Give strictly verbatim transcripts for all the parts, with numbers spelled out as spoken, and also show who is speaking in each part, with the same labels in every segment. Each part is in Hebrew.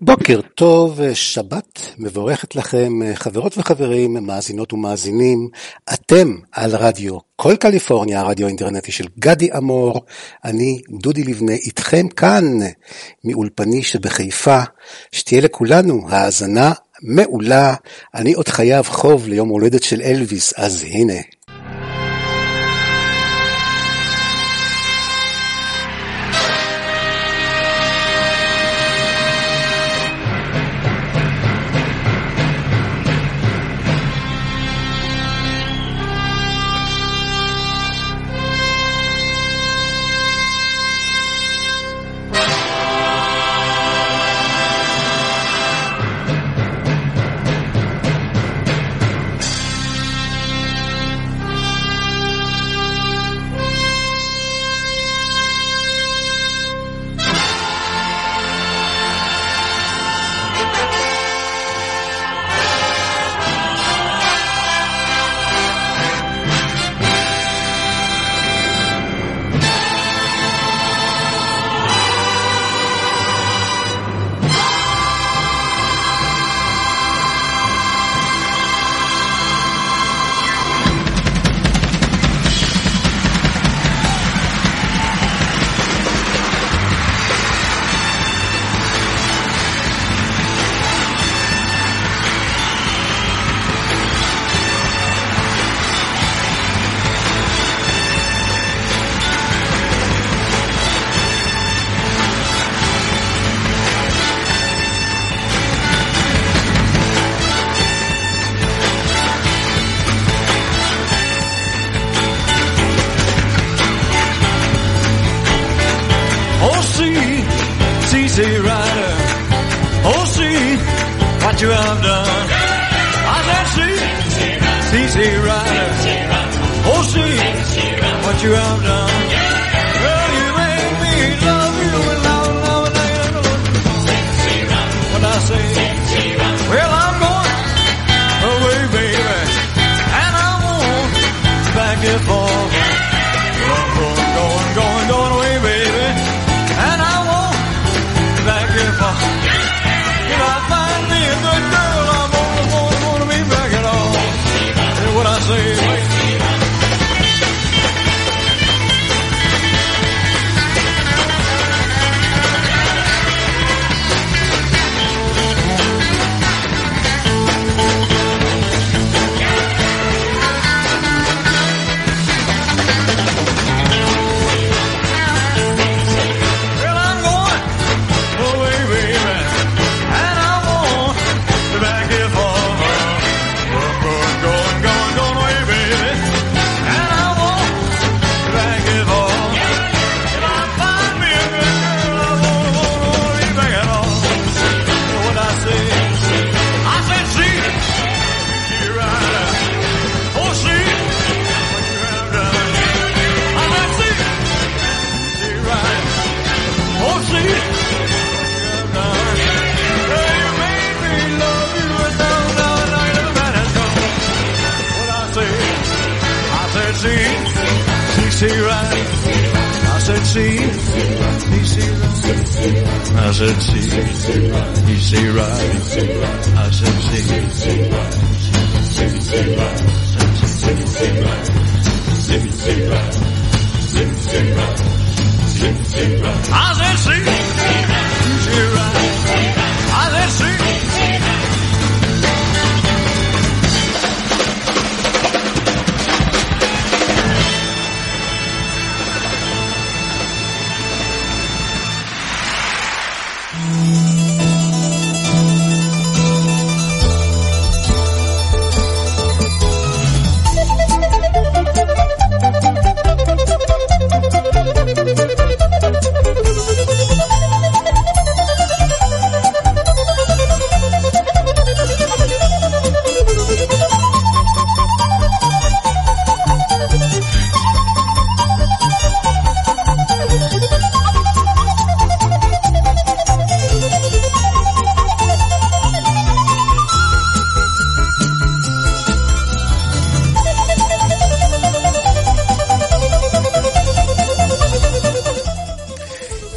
Speaker 1: בוקר טוב, שבת מבורכת לכם, חברות וחברים, מאזינות ומאזינים. אתם על רדיו כל קליפורניה, הרדיו האינטרנטי של גדי אמור. אני דודי לבנה איתכם כאן מאולפני שבחיפה. שתהיה לכולנו האזנה מעולה. אני עוד חייב חוב ליום הולדת של אלוויס, אז הנה.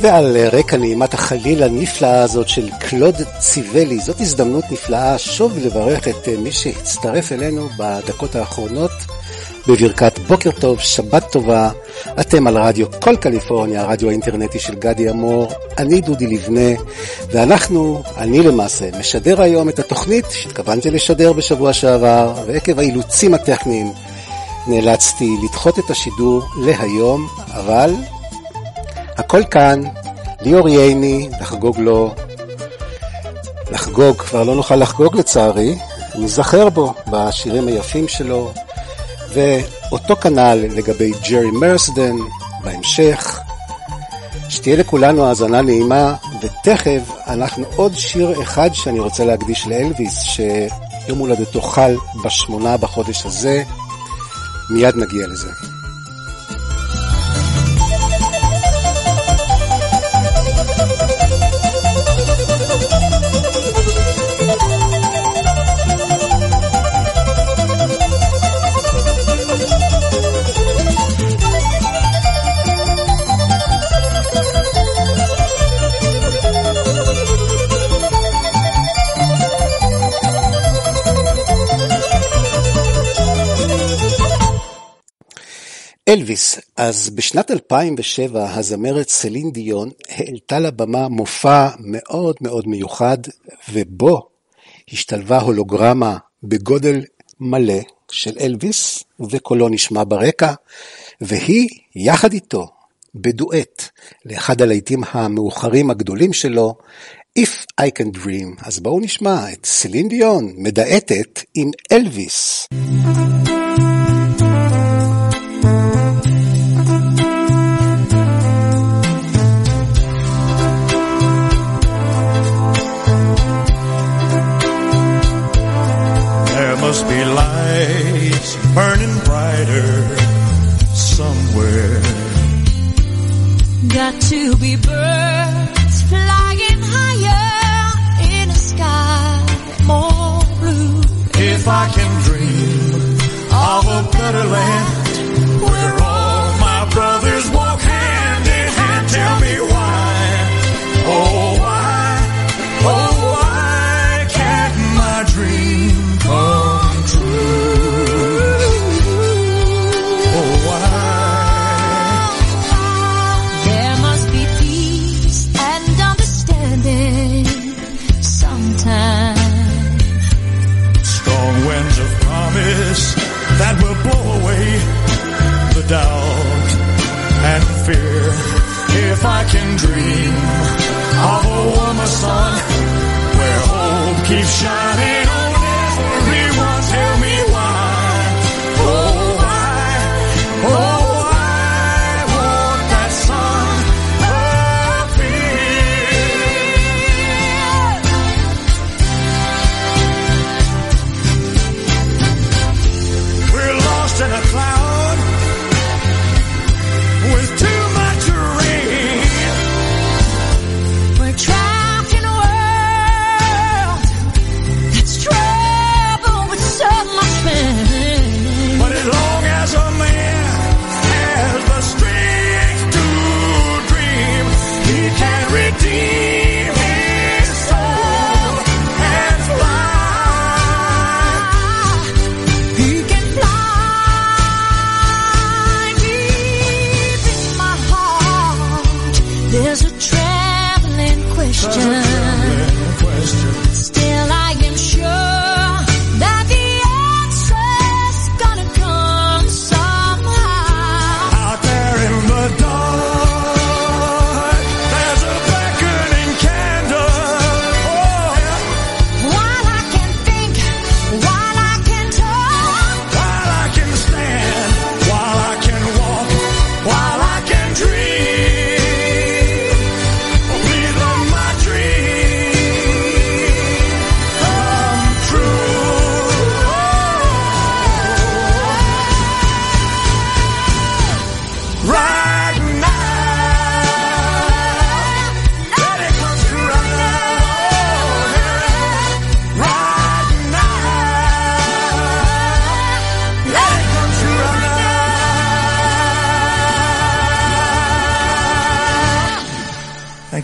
Speaker 1: ועל רקע נעימת החליל הנפלאה הזאת של קלוד ציבלי, זאת הזדמנות נפלאה שוב לברך את מי שהצטרף אלינו בדקות האחרונות בברכת בוקר טוב, שבת טובה. אתם על רדיו כל קליפורניה, הרדיו האינטרנטי של גדי אמור. אני דודי לבנה, ואנחנו, אני למעשה, משדר היום את התוכנית שהתכוונתי לשדר בשבוע שעבר, ועקב האילוצים הטכניים נאלצתי לדחות את השידור להיום, אבל הכל כאן, ליאור ייני, לחגוג לו, לחגוג, כבר לא נוכל לחגוג לצערי, נזכר בו בשירים היפים שלו, ואותו כנ"ל לגבי ג'רי מרסדן בהמשך. שתהיה לכולנו האזנה נעימה, ותכף אנחנו עוד שיר אחד שאני רוצה להקדיש לאלוויס, שיום הולדתו חל בשמונה בחודש הזה, מיד נגיע לזה. אלוויס, אז בשנת אלפיים ושבע הזמרת סלין דיון העלתה לבמה מופע מאוד מאוד מיוחד, ובו השתלבה הולוגרמה בגודל מלא של אלוויס, וקולו נשמע ברקע, והיא יחד איתו בדואט לאחד הלהיטים המאוחרים הגדולים שלו, If I Can Dream. אז בואו נשמע את סלין דיון מדעטת עם אלוויס.
Speaker 2: Must be lights burning brighter somewhere.
Speaker 3: Got to be birds flying higher in a sky more blue.
Speaker 2: If I can dream of a better land where all my brothers walk hand in hand, tell me why, oh why, oh why can't my dream come? That will blow away the doubt and fear. If I can dream of a warmer sun where hope keeps shining on everyone, tell me why, oh why, oh why won't that sun in a cloud with too much rain.
Speaker 3: We're trapped in a world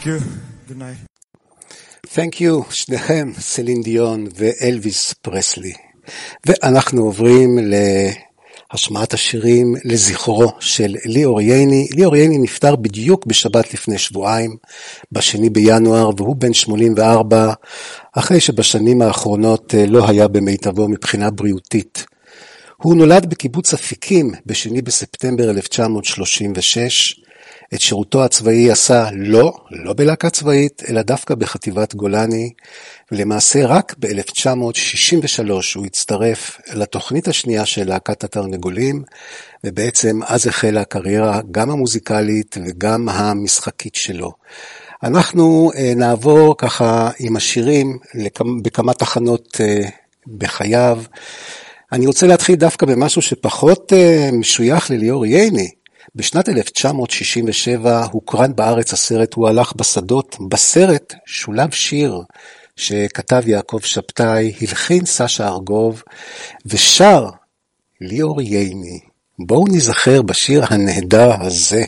Speaker 2: Thank you. Good night.
Speaker 1: Thank you, שניכם, סלין דיון ואלוויס פרסלי. ואנחנו עוברים להשמעת השירים לזכרו של ליאור ייני. ליאור ייני נפטר בדיוק בשבת לפני שבועיים, בשני בינואר, והוא בן שמונים וארבע, אחרי שבשנים האחרונות לא היה במיטבו מבחינה בריאותית. הוא נולד בקיבוץ אפיקים בשני בספטמבר אלף תשע מאות שלושים ושש, את שירותו הצבאי עשה לא, לא בלהקה צבאית, אלא דווקא בחטיבת גולני, ולמעשה רק ב-אלף תשע מאות שישים ושלוש הוא הצטרף לתוכנית השנייה של להקת התרנגולים, ובעצם אז החלה הקריירה גם המוזיקלית וגם המשחקית שלו. אנחנו נעבור ככה עם השירים בכמה תחנות בחייו. אני רוצה להתחיל דווקא במשהו שפחות משוייך לליאור ייני. בשנת אלף תשע מאות שישים ושבע הוקרן בארץ הסרט הוא הלך בשדות. בסרט שולב שיר שכתב יעקב שבתאי, הלחין סשה ארגוב ושר ליאור ייני. בואו נזכר בשיר הנהדר הזה.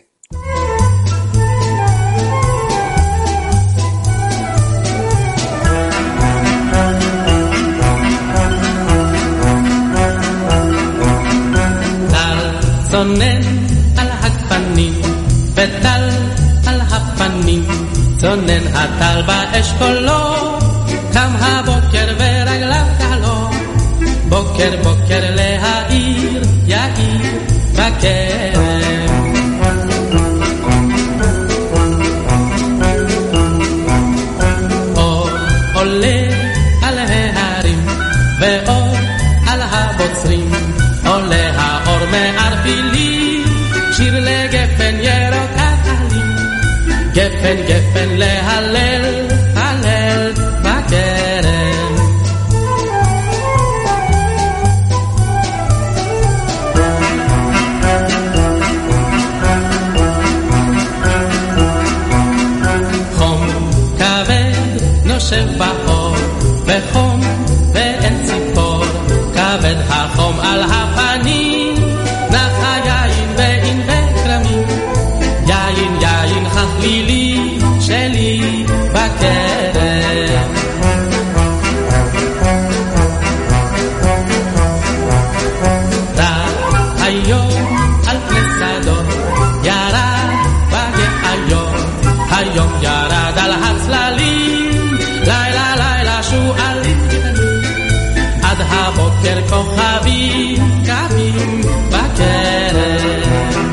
Speaker 4: צונן על הגפנים וטל על הפנים, צונן הטל באשכולו, קם הבוקר ורגליו קלו, בוקר בוקר להעיר יאיר בכרם. אור עולה על ההרים ואור על הבוצרים, עולה האור מערפילים, שיר לגפן ירוקת עלים, גפן גפן להלל, הלל בכרם. חום כבד נושב באור, וחום ואין ציפור, כבד החום על הפנים, נח היין ואין וקרמים, יין יין חכלילי שלי בכרם. רק היום על פני שדות ירד בגאיות, היום ירד על הצללים, לילה לילה שועלים עד הבוקר כוכבים קמים בכרם.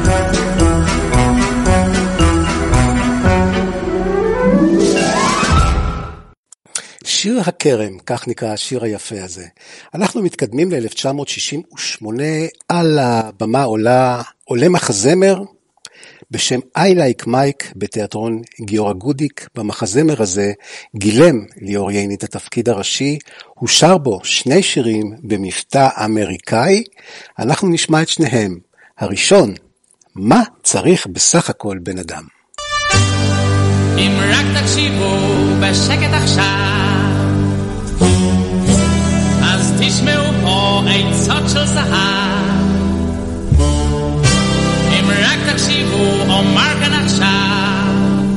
Speaker 1: שיר הכרם, כך נקרא השיר היפה הזה. אנחנו מתקדמים ל-אלף תשע מאות שישים ושמונה, על הבמה עולה, עולה מחזמר בשם I Like Mike בתיאטרון גיורא גודיק. במחזמר הזה גילם ליאור ייני את התפקיד הראשי, הוא שר בו שני שירים במבטא אמריקאי, אנחנו נשמע את שניהם. הראשון, מה צריך בסך הכל בן אדם?
Speaker 4: אם רק תקשיבו בשקט עכשיו, אז תשמעו פה עצות של זהב. אם רק תקשיבו אומר כאן עכשיו,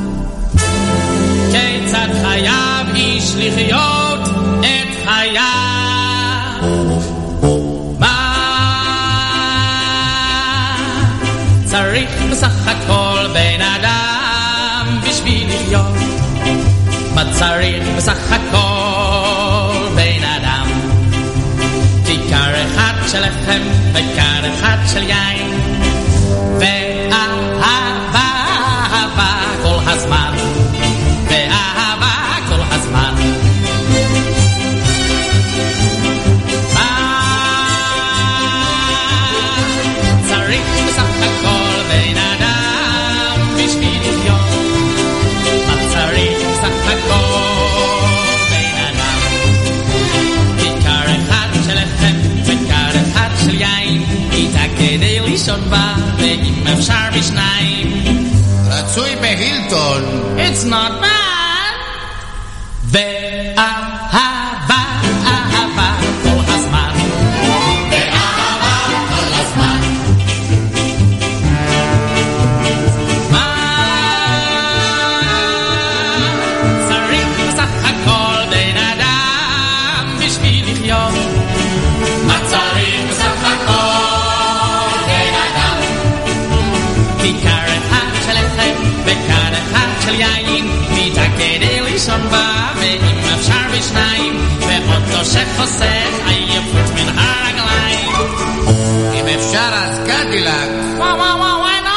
Speaker 4: כיצד חייב איש לחיות את חייו. מה צריך בסך הכל בן אדם בשביל לחיות? מה צריך בסך הכל בן אדם? כיכר אחד של לחם וכר אחד של יין, ואהבה, אהבה כל הזמן, ואהבה כל הזמן. מה צריך בסך הכל בן אדם בשביל לחיות? מה צריך בסך הכל בן אדם? כיכר אחד של לחם וכר אחד של יין, איתה כדי לישון בה ואם אפשר בשניים,
Speaker 5: רצוי בהילטון.
Speaker 4: It's not bad. ואהבה, אהבה כל הזמן,
Speaker 5: ואהבה כל הזמן.
Speaker 4: מה אפשר בשניים, ואוטו שחוסך עייפות מן הרגליים.
Speaker 5: אם אפשר אז קדילק.
Speaker 4: וואו וואו וואו וואי נו.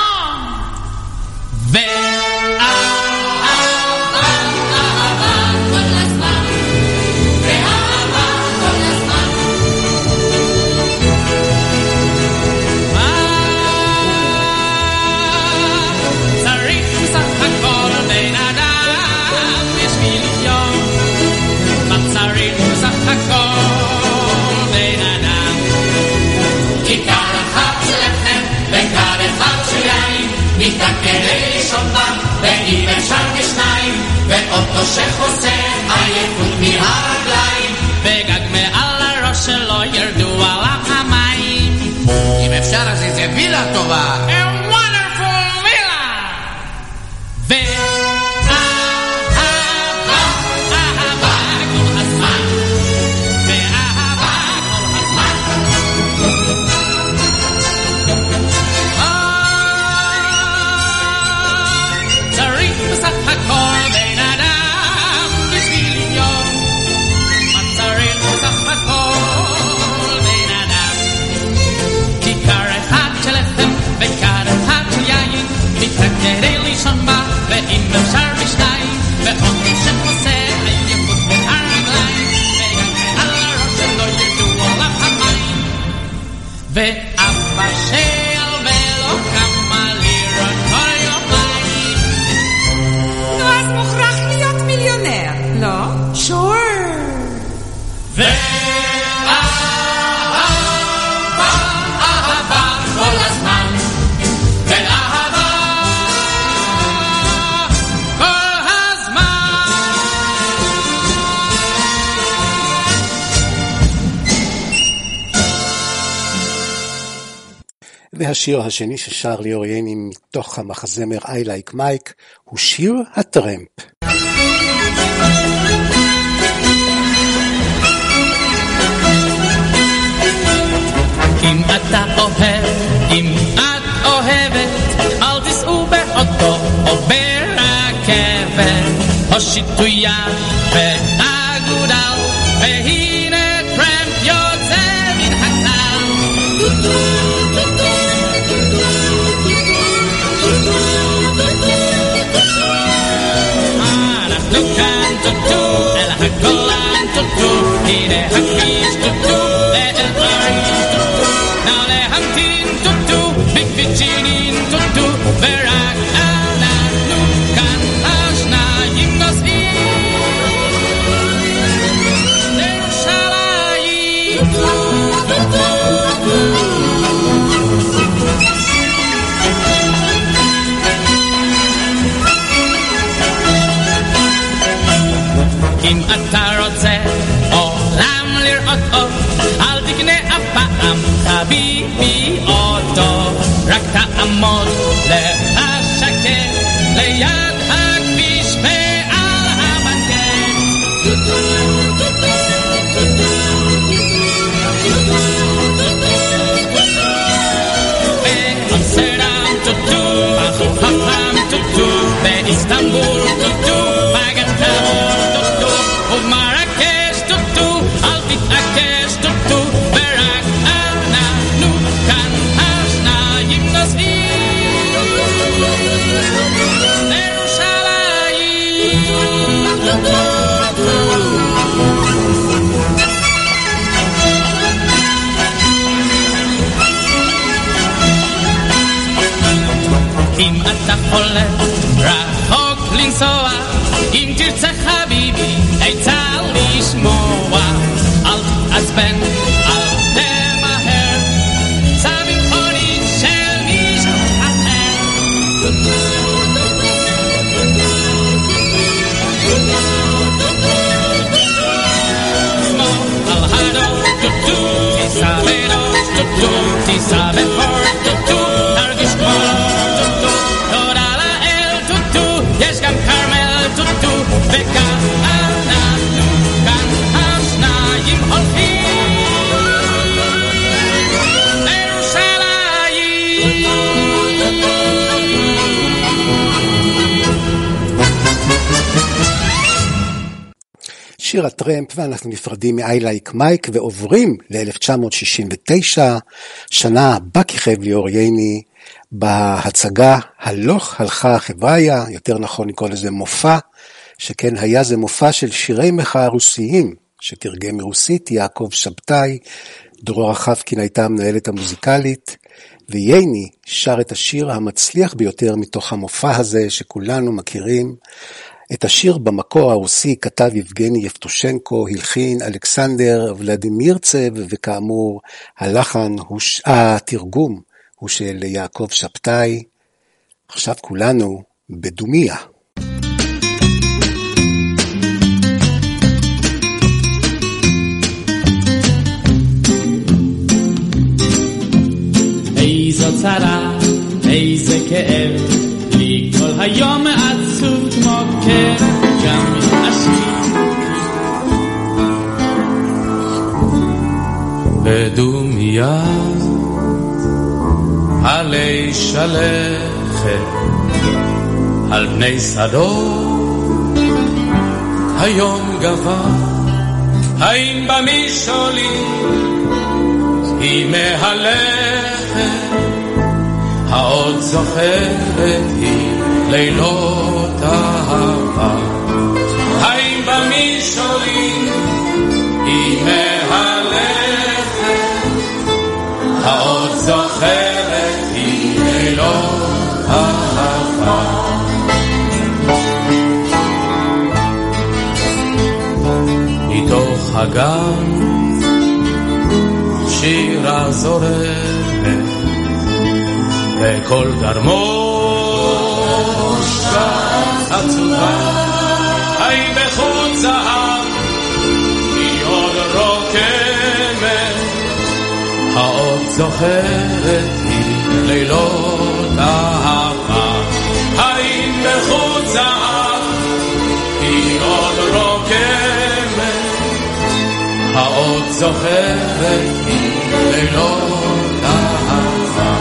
Speaker 5: כדי לישון בה, ואם אפשר בשניים, ואוטו שחוסך עייפות מהרגליים,
Speaker 4: וגג מעל הראש שלו ירדו עליו המים.
Speaker 5: אם אפשר אז איזה וילה טובה,
Speaker 4: A wonderful villa. ואהבה, אהבה כל הזמן, ואהבה כל הזמן. צריך בסך הכל בן אדם בשביל להיות. מה צריך בסך הכל בן אדם? כיכר אחד של לחם וכד אחד של יין, מיטה כדי לישון בה, ואם אפשר בשניים, ואוטו שחוסך עייפות מן הרגליים, וגם על הראש שלו ירדו עליו המים. ואבא שעל ולא כמה לירות כל יומיים.
Speaker 6: נו, אז מוכרח להיות מיליונר, לא? שור.
Speaker 4: ואהבה, אהבה כל הזמן, ואהבה כל הזמן.
Speaker 1: והשיר השני ששר ליאור ייני מתוך המחזמר I Like Mike הוא שיר הטרמפ.
Speaker 4: אם אתה אוהב, אם את אוהבת, אל תיסעו באוטו או ברכבת, הושיטו יד ואגודל, והנה טרמפ יוצא מן הכלל. אנחנו כאן טוטו, אל הגולן טוטו, הנה הכביש טוטו, ואל אריז טוטו, נא להמתין טוטו, בקפיצ'ינין טוטו, ורק אנחנו כאן השניים נוסעים לירושלים. אם אתה רוצה עולם לראות עוד, אל תקנה אף פעם חביבי אוטו, רק תעמוד להשקט ליד הכביש ועל המנגט. באמסטרדם טוטו, בחופם טוטו, באיסטנבול טוטו, בגטאמון טוטו, ובמרקש טוטו, אל תתעקש טוטו, ורק אנחנו כאן השניים נוסעים לירושלים. אם אתה חולף רחוק לנסוע, אם תרצה חביבי עצה לשמוע, אל תתעצבן, אל תמהר, סע במכונית של מישהו אחר. שמאל על הדור טוטו, תיסע בראש טוטו, תיסע בחור טוטו, תרגיש כמו טוטו, תודה לאל טוטו, יש גם קרמל טוטו, וכאן אנחנו כאן השניים הולכים לירושלים.
Speaker 1: שיר הטרמפ, ואנחנו נפרדים מ-I Like Mike ועוברים ל-אלף תשע מאות שישים ותשע, שנה בה כיכב ליאור ייני בהצגה הלוך הלכה החבריה, יותר נכון לקרוא לזה מופע, שכן היה זה מופע של שירי מחאה רוסיים, שתרגם מרוסית יעקב שבתאי, דרורה חבקין הייתה המנהלת המוזיקלית, וייני שר את השיר המצליח ביותר מתוך המופע הזה שכולנו מכירים. את השיר במקור הרוסי כתב יבגני יבטושנקו, הלחין אלכסנדר ולדימירצב, וכאמור הלחן, התרגום הוא של יעקב שבתאי. עכשיו כולנו בדומיה.
Speaker 4: איזו צרה, איזה כאב, לי כל היום עצוב כמו כאב, גם עשיר. בדומיה, עלי שלכת, על פני שדות, היום גבה, האם במשעולים, היא מהלכת, העוד זוכרת היא לילות אהבה. האם במשעולים היא מהלכת, העוד זוכרת היא לילות אהבה. מתוך הגן שירה זורמת, וכל גרמושקה עצובה, האם בחוט זהב היא עוד רוקמת, העוד זוכרת היא לילות אהבה. האם בחוט זהב היא עוד רוקמת, העוד זוכרת היא לילות אהבה.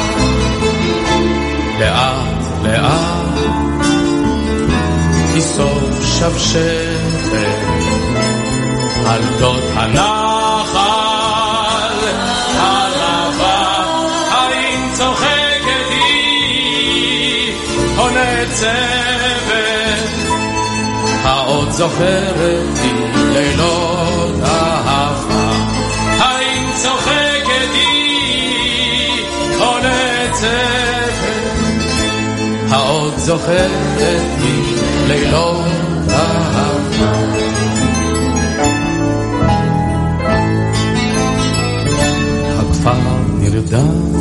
Speaker 4: לאט לאט תיסוף שבשבת על גדות הנחל הרבה, האם צוחקת היא או נצבת, העוד זוכרת היא לילות אהבה. האם צוחקת היא או נצבת, העוד זוכרת היא לילות אהבה. הכפר נרדם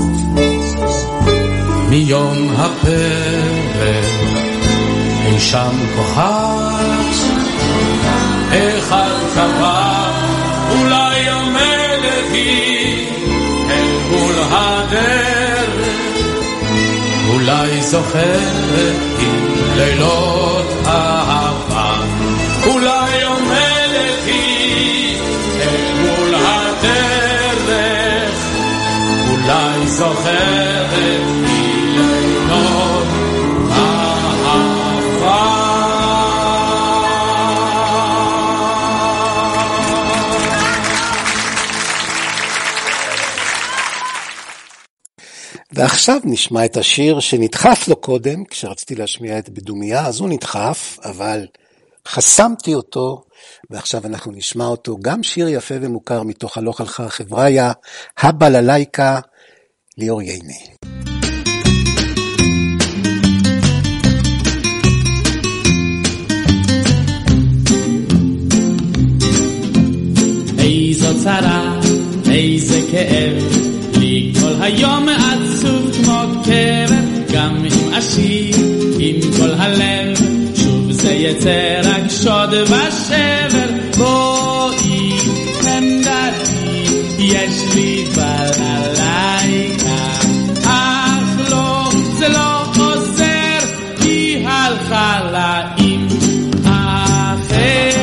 Speaker 4: מיום הפרק, אי שם כוכב אחד קבע, אולי עומדת היא אל מול הדרך, אולי זוכרת היא לילות אהבה. אולי עומדת היא אל מול הדרך, אולי זוכרת היא לילות אהבה.
Speaker 1: ועכשיו נשמע את השיר שנדחף לו קודם, כשרציתי להשמיע את בדומיה, אז הוא נדחף, אבל חסמתי אותו, ועכשיו אנחנו נשמע אותו, גם שיר יפה ומוכר מתוך הלוך הלכה החבריה, הבללייקה, ליאור ייני.
Speaker 4: איזו צרה, איזה כאב, לי כל היום עצוב כמו קבר, גם עם עשיר, עם כל הלב, שוב זה יצא רק שוד ושבר. בואי חמדתי, יש לי בללייקה, אך לא, זה לא עוזר, היא הלכה לה עם אחר.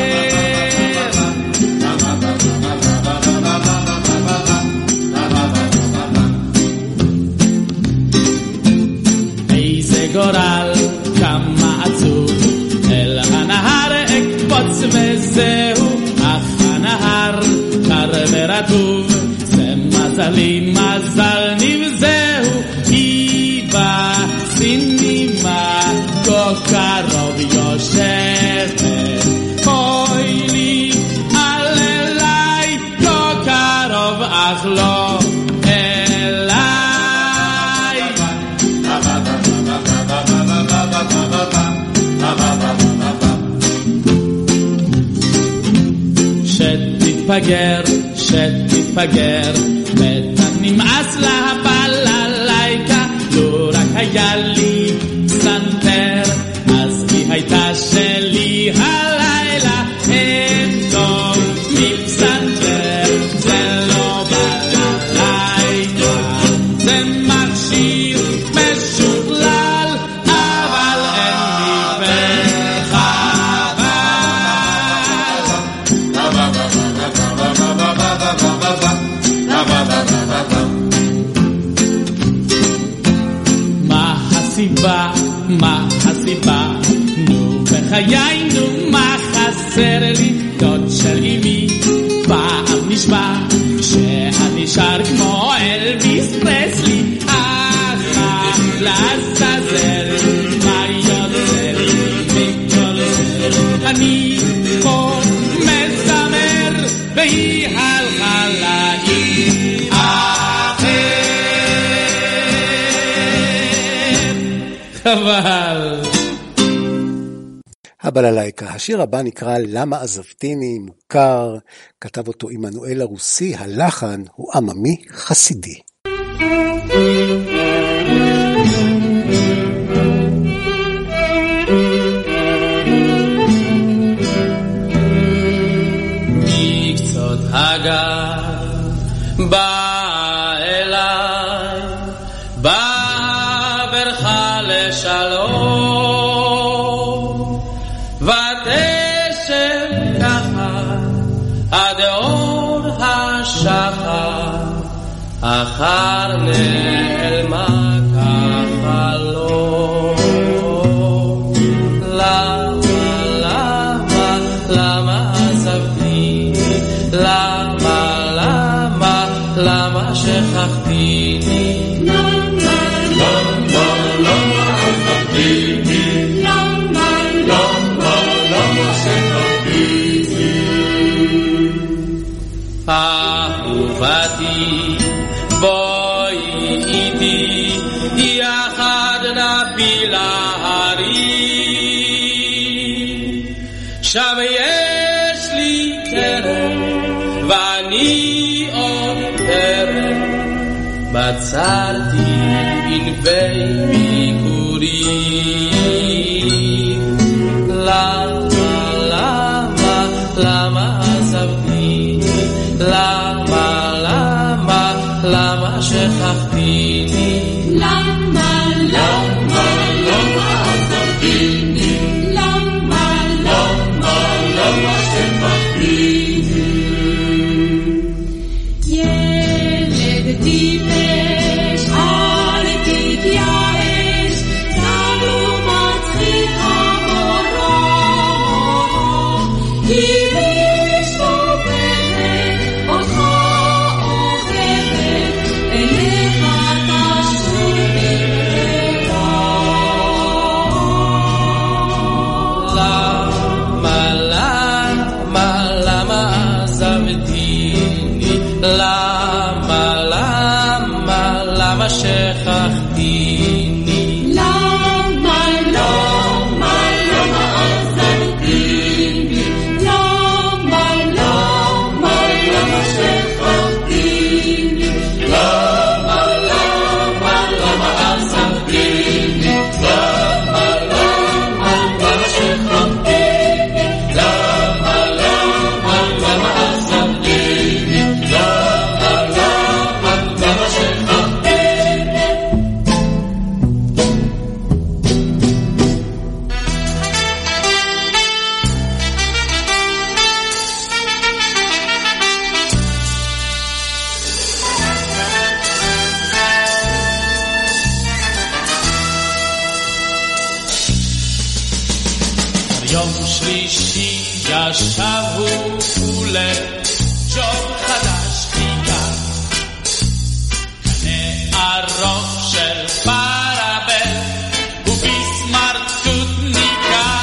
Speaker 4: גורל כמה עצוב, אל הנהר אקפוץ וז זהו אך הנהר קר ורטוב, זה מזלי מזל נבזהו, כי בסינימה כה קרוב יושבת. אוי לי על אליי כה קרוב אך לא אליי. שתתפגר, שתתפגר, בטח נמאס להפל עלייקה, לא רק היה לי סנטר, אז היא הייתה שלי הלילה, אין טוב מפסנטר, זה לא בלילה, זה מכשיר משוכלל, אבל אין לי הסיבה, מה הסיבה? נו בחיי, נו מה חסר לי? דוד של אמי פעם נשבע שאני שר כמו אלביס פרסלי, אחר לעזאזל מה יוצא לי מכל זה? אני פה מזמר והיא הלכה לעיר אבל
Speaker 1: הבללייקה. השיר הבא נקרא למה עזבתיני, מוכר, כתב אותו עמנואל הרוסי, הלחן הוא עממי חסידי.
Speaker 4: מקצות הגר בא אליי, בא ברכה לשלום, ותשב ככה עד אור השחר, אחר נעלמה ככה לא. למה, למה, למה עזבתי? למה, למה, למה שכחתיני? אהובתי בואי איתי יחד נפיל ההרים, שם יש לי כרם ואני עוד כרם, בצרתי ענבי ביקורים. למה, למה, למה עזבתי? למה, למה, למה שכחתיני?
Speaker 3: למה, למה, למה עזבתיני? למה, למה, למה שכחתיני? ילד טיפש, אל תתייאש, צר ומצחיק המורו, כי
Speaker 4: שכחתיני.
Speaker 3: למה, למה, למה עזבתיני? למה, למה, למה שכחתיני? למה, למה, למה עזבתיני? למה, למה, למה שכחתיני? למה, למה, למה עזבתיני? למה, למה, למה שכחתיני?
Speaker 4: יום שלישי ישב ההוא לג'וב חדש חיכה, קנה ארוך של פרבל ובסמרטוט ניקה,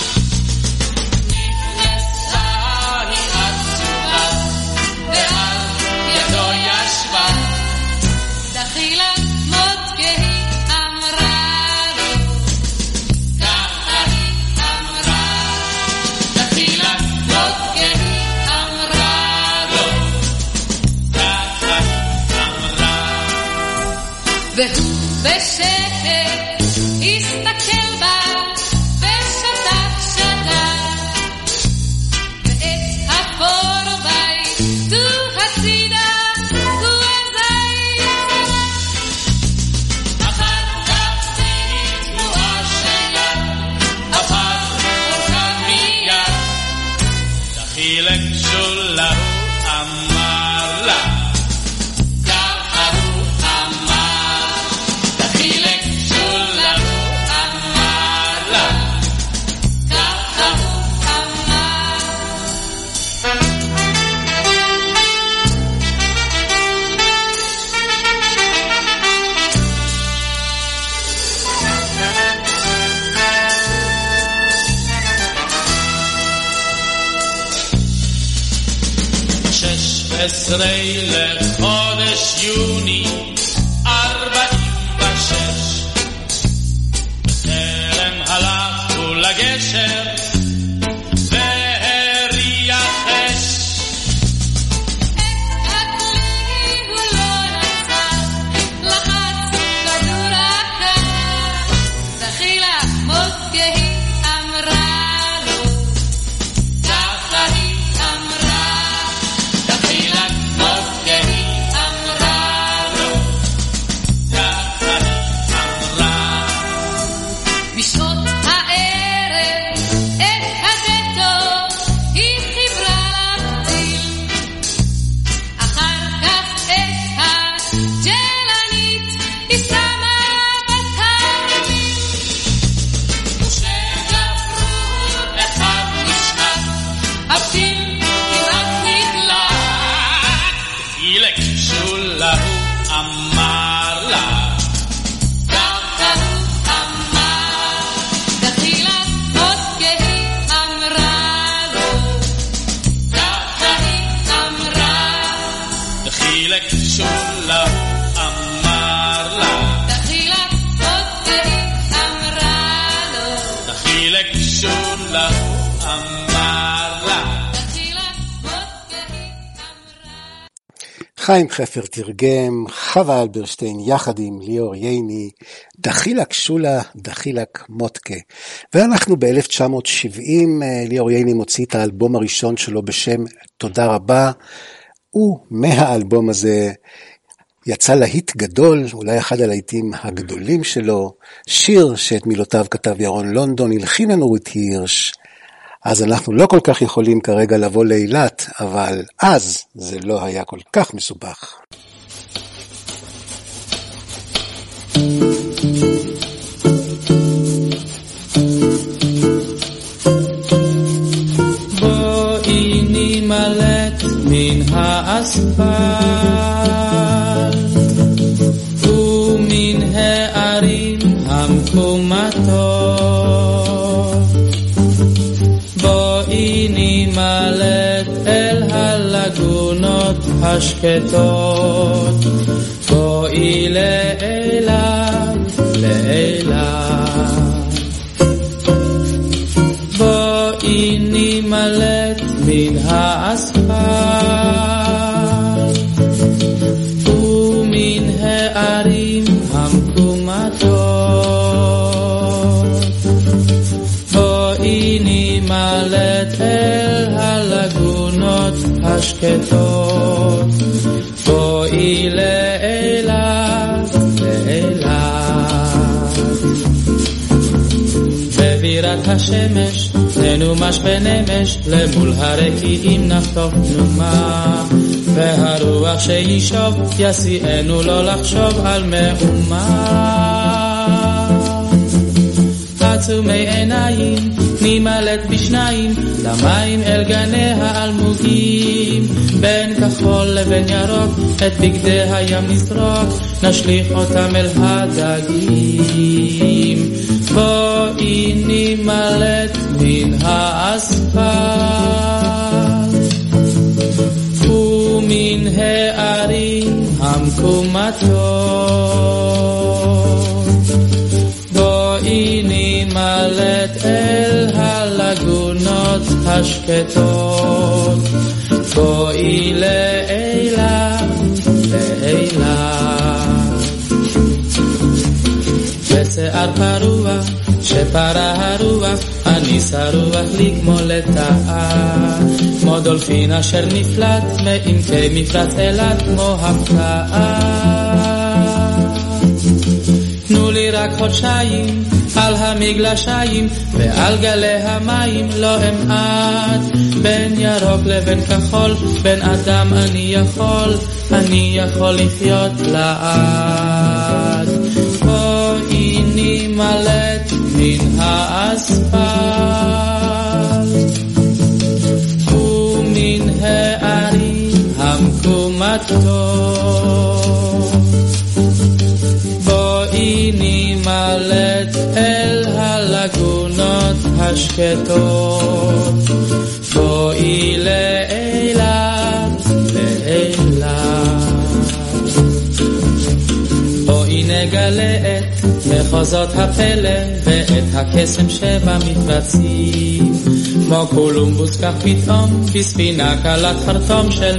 Speaker 4: נכנסה היא עצובה ועל ידו ישבה,
Speaker 3: דחילה מותקה אמרה לו, ככה היא אמרה,
Speaker 4: דחילה
Speaker 3: מותקה אמרה לו,
Speaker 4: ככה אמרה,
Speaker 3: והוא בשקט הסתכל בה ושתק שתק, ואת הקורבי דו הצידה הוא אזי
Speaker 4: אחר כך תהי תנועה שלה, עבר אורכה מיד, דחילק שולה הוא אמר לה, ככה הוא אמר, דחילק שולה הוא אמר לה, ככה הוא אמר. שש עשרה לחודש יוני ארבעים ושש, בטרם הלכו לגשר והריח אש,
Speaker 3: הכלי הוא לא נצח, לחץ כדור הקר, דחילה מותקה אמרה לו,
Speaker 4: ככה היא
Speaker 3: אמרה,
Speaker 4: דחילה מותקה אמרה לו, ככה היא אמרה,
Speaker 3: בשעות הערב את הדלתות היא חיברה לפתיל, אחר כך את הג'לנית היא שמה בתרמיל,
Speaker 4: ושגפרו אחד נשחק, הפתיל כמעט נדלק, דחילק שולה הוא אמר לה,
Speaker 3: ככה הוא אמר, דחילה מותקה אמרה לו, ככה היא אמרה,
Speaker 4: דחילק שולה הוא אמר לה,
Speaker 3: דחילה מותקה אמרה לו,
Speaker 4: דחילק שולה הוא אמר לה.
Speaker 3: דחילה מותקה אמרה.
Speaker 1: חיים חפר תרגם, חווה אלברשטיין יחד עם ליאור ייני, דחילק שולה, דחילק מותקה. ואנחנו ב-אלף תשע מאות שבעים, ליאור ייני מוציא את האלבום הראשון שלו בשם תודה רבה, ומהאלבום הזה יצא להיט גדול, אולי אחד הלהיטים הגדולים שלו, שיר שאת מילותיו כתב ירון לונדון, הלחין לנו רות הירש. אז אנחנו לא כל כך יכולים כרגע לבוא לאילת, אבל אז זה לא היה כל כך מסובך.
Speaker 4: בואי נמלט מן האספלט ומן הערים המקומטות, בואי נמלט אל הלגונות השקטות, בואי לאילת, לאילת, בואי נמלט מן האספלט ומן הערים המקומטות, בואי נמלט אל הלגונות השקטות, בואי לאילת, לאילת, בבירת השמש ננומש ונמש, למול הרקיעים נחטוף תנומה, והרוח שישוב יסיענו לא לחשוב על מאומה. עצומי עיניים נמלט בשניים למים אל גני האלמוגים, בין כחול לבין ירוק את בגדי הים נזרוק, נשליך אותם אל הדגים. בואי נמלט מן האספלט ומן הערים המקומטות, בואי נמלט אל הלגונות השקטות, בואי לאילת, לאילת. בשיער פרוע שפרה הרוח, אני שרוח לי כמו לטעה, כמו דולפין אשר נפלט מעמקי מפרץ אילת כמו הפתעה. תנו לי רק חודשיים על המגלשיים ועל גלי המים לא אמעט, בין ירוק לבין כחול, בין אדם אני יכול, אני יכול לחיות לאט. בואי נמלט מן האספלט ומן הערים המקומטות, בואי נמלט אל הלגונות השקטות, בואי לאילת, לאילת. בואי נגלה את מחוזות הפלא ואת הקסם שבמפרצים, כמו קולומבוס כך פתאום בספינה קלת חרטום של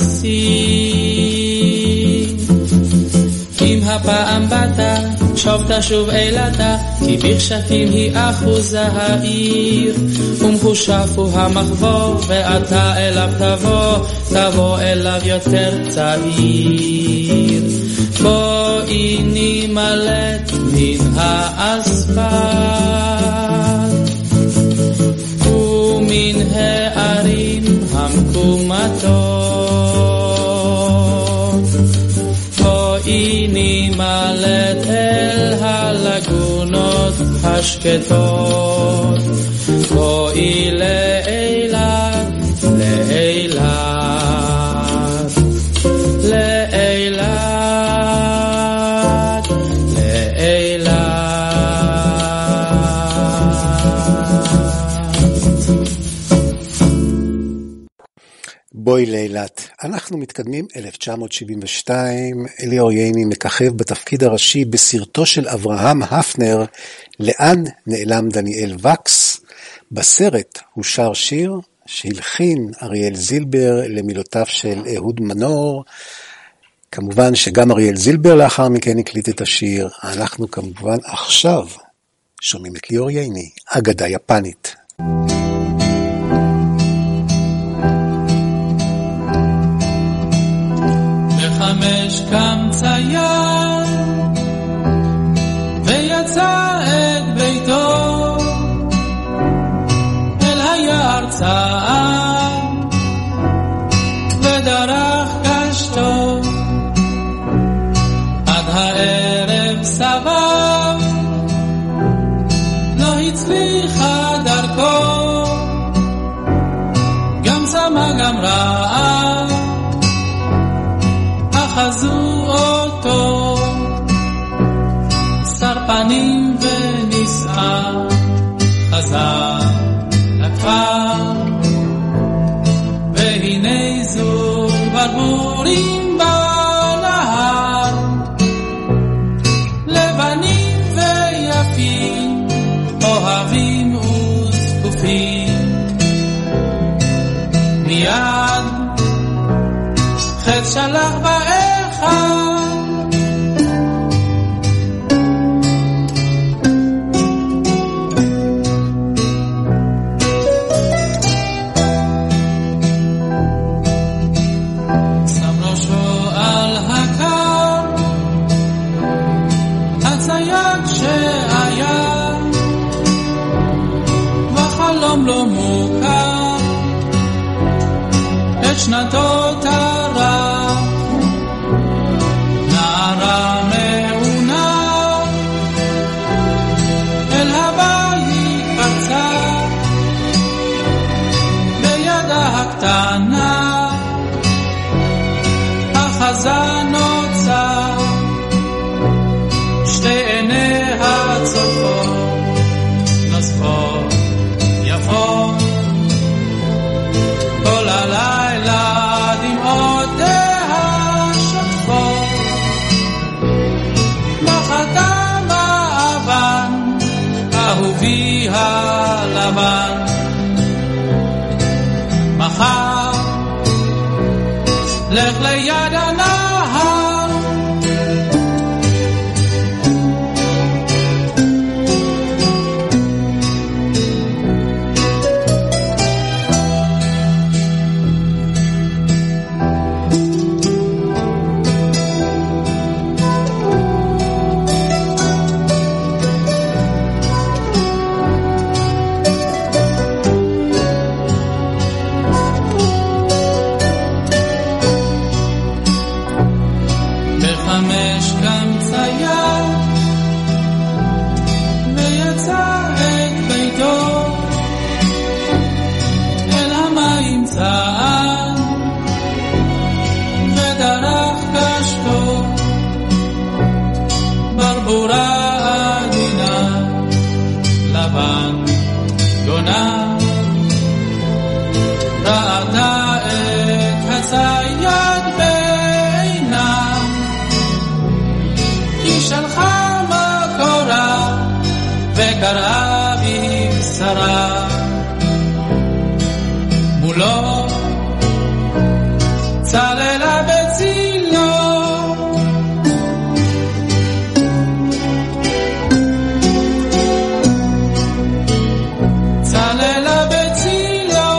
Speaker 4: מפרשים. אם הפעם באת שוב תשוב אילתה, כי בכשפים היא אחוזה העיר, ומחושף הוא המחבור ואתה אליו תבוא, תבוא אליו יותר צעיר. בואי נמלט מן האספלט ומן הערים המקומטות, בואי נמלט אל הלגונות השקטות, בואי לאילת, לאילת, לאילת.
Speaker 1: בואי לאילת. אנחנו מתקדמים אלף תשע מאות שבעים ושתיים, אליאור ייני מככב בתפקיד הראשי בסרטו של אברהם הפנר, לאן נעלם דניאל וקס. בסרט הוא שר שיר שהלחין אריאל זילבר למילותיו של אהוד מנור. כמובן שגם אריאל זילבר לאחר מכן הקליט את השיר. אנחנו כמובן עכשיו שומעים את ליאור ייני, אגדה יפנית.
Speaker 4: בחמש קם צייר ויצא את ביתו אל היער צעד ודרך קשתו, עד הערב סבב לא הצליחה דרכו, גם צמא גם רעב אחזו אותו, שר פנים ונסער חזר לכפר, והנה זוג ברבורים בנהר, לבנים ויפים אוהבים וזקופים, מיד חץ שלח באחד, שם ראשו על הקר, הצייד שהיה וחלום לא מוכר, את שנתו תרח נערה מעונה, אל הבית פרצה
Speaker 7: הקטנה החזן נוצר שתי עיניה צופות נוספות יפות כל הלילה דמעותיה שוטפות בחתם האבן אהובי הלבן מחר לך ליד הנהר קראה בשרה מולו צללה בצילו צללה בצילו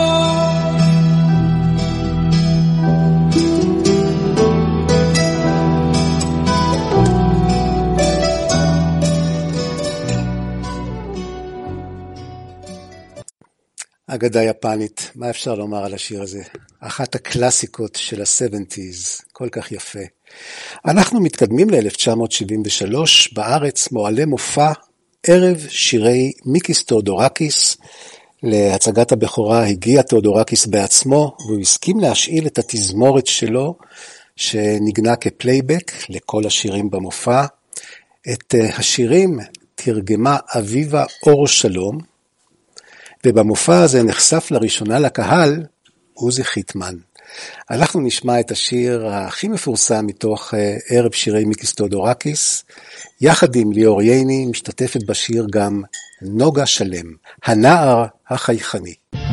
Speaker 1: אגדה יפנית, מה אפשר לומר על השיר הזה? אחת הקלאסיקות של ה-שבעים, כל כך יפה. אנחנו מתקדמים ל-אלף תשע מאות שבעים ושלוש, בארץ מועלה מופע ערב שירי מיקיס תיאודורקיס. להצגת הבכורה הגיע תיאודורקיס בעצמו, והוא הסכים להשאיל את התזמורת שלו, שנגנה כפלייבק לכל השירים במופע. את השירים תרגמה אביבה אור שלום, ובמופע הזה נחשף לראשונה לקהל עוזי חיטמן. אנחנו נשמע את השיר הכי מפורסם מתוך ערב שירי מיקיס תיאודורקיס, יחד עם ליאור ייני משתתפת בשיר גם נוגה שלם, הנער החייכני.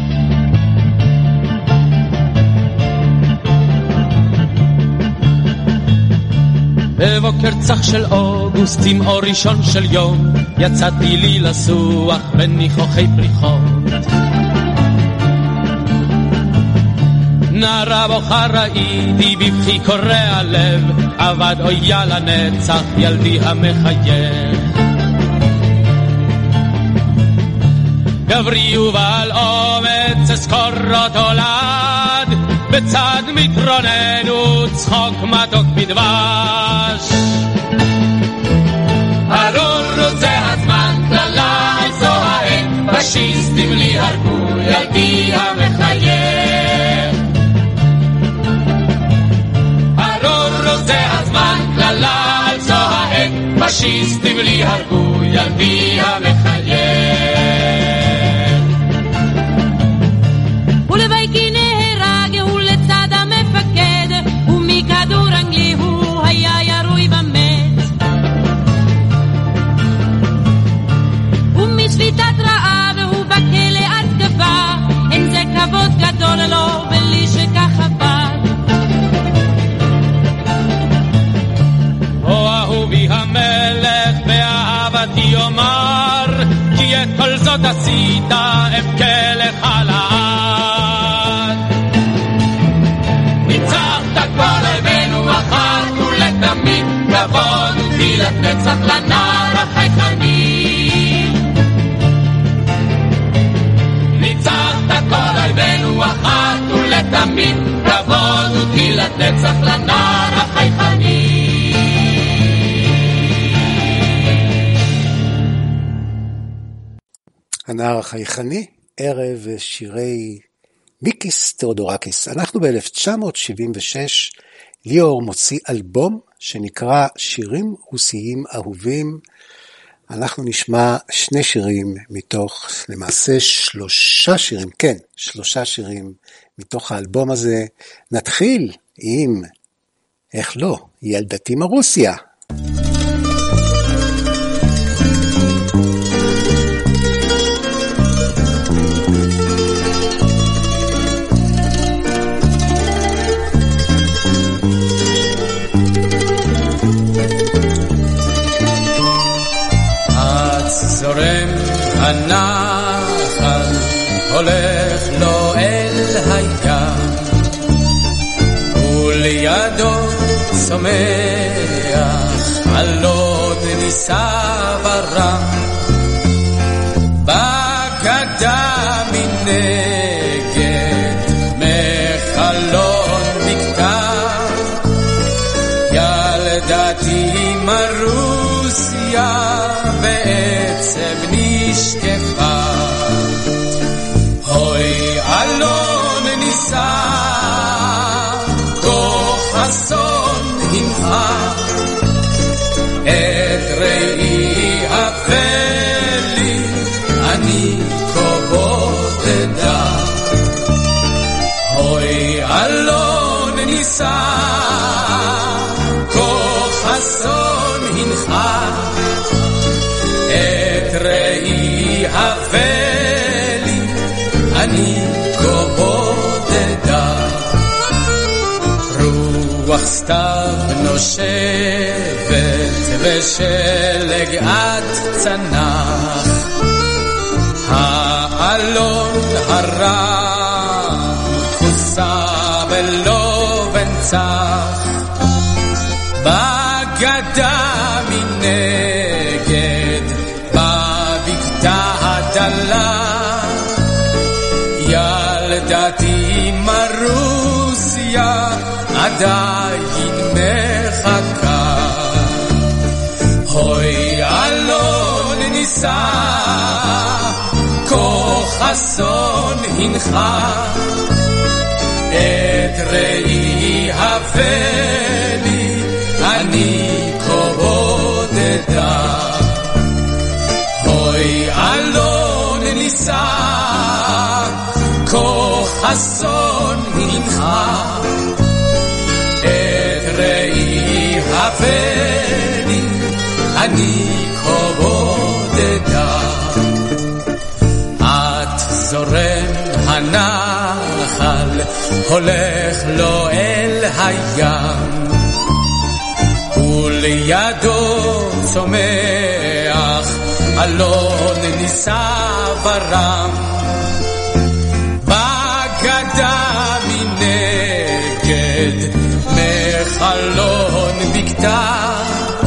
Speaker 8: בבוקר צח של אוגוסט עם אור ראשון של יום יצאתי לי לסוח בניחוחי פריחות נערה בוכה ראיתי בבכי קורע לב עבד אויה לנצח ילדי המחייך גברי ובעל אומץ אזכור אותו לעד בצד מתרוננו צחוק מתוק בדבש ארור זה הזמן כללה זו העת פשיסטים לי הרגו ילדי המחייך ארור זה הזמן כללה זו העת פשיסטים לי הרגו ילדי המחייך
Speaker 3: ולבייקי נהרג הוא לצד המפקד ומכדור אנגלי הוא היה ירוי במת ומשביתת רעב הוא בכלא התקפה אין זה כבוד גדול לו בלי שכך עבד
Speaker 8: או אהובי המלך באהבתי יאמר כי את כל זאת עשית אבכה לך לעד ניצחת כל אויבינו אחת ולתמיד כבוד ותהילת נצח לנער החייכני ניצחת כל אויבינו אחת ולתמיד כבוד ותהילת נצח לנער החייכני
Speaker 1: הנער החייכני, ערב שירי מיקיס תיאודורקיס. אנחנו ב-אלף תשע מאות שבעים ושש, ליאור מוציא אלבום שנקרא שירים רוסיים אהובים. אנחנו נשמע שני שירים מתוך, למעשה שלושה שירים, כן, שלושה שירים מתוך האלבום הזה. נתחיל עם, איך לא, ילדתי מרוסיה.
Speaker 7: זורם הנחל, הולך לו אל הים, ולידו צומח אלון נישא ורם, בגדה מנגד מחלון בקתה, ילדתי מרוסיה בעצב נשקפה, הוי אלון נישא כוח אסון הנחה, את ראי הפלי אני כה בודדה, הוי אלון נישא כוח אסון הנחה, את ראי הפלי אני כה בודדה, רוח סתיו נושבת ושלג עד צנח, האלון הרם כוסה ולא בנצח, בגדה מנגד בבקתה הדלה, ילדתי מרוסיה עדיין מחכה, הוי אלון נישא כוח אסון הנחה, את ראי הפלי אני כה בודדה, הוי אלון נישא כוח אסון הנחה, את ראי הפלי אני כה בודדה, את זורם הנחל, הולך לו אל הים, ולידו צומח אלון נישא ורם, בגדה מנגד מחלון בקתה,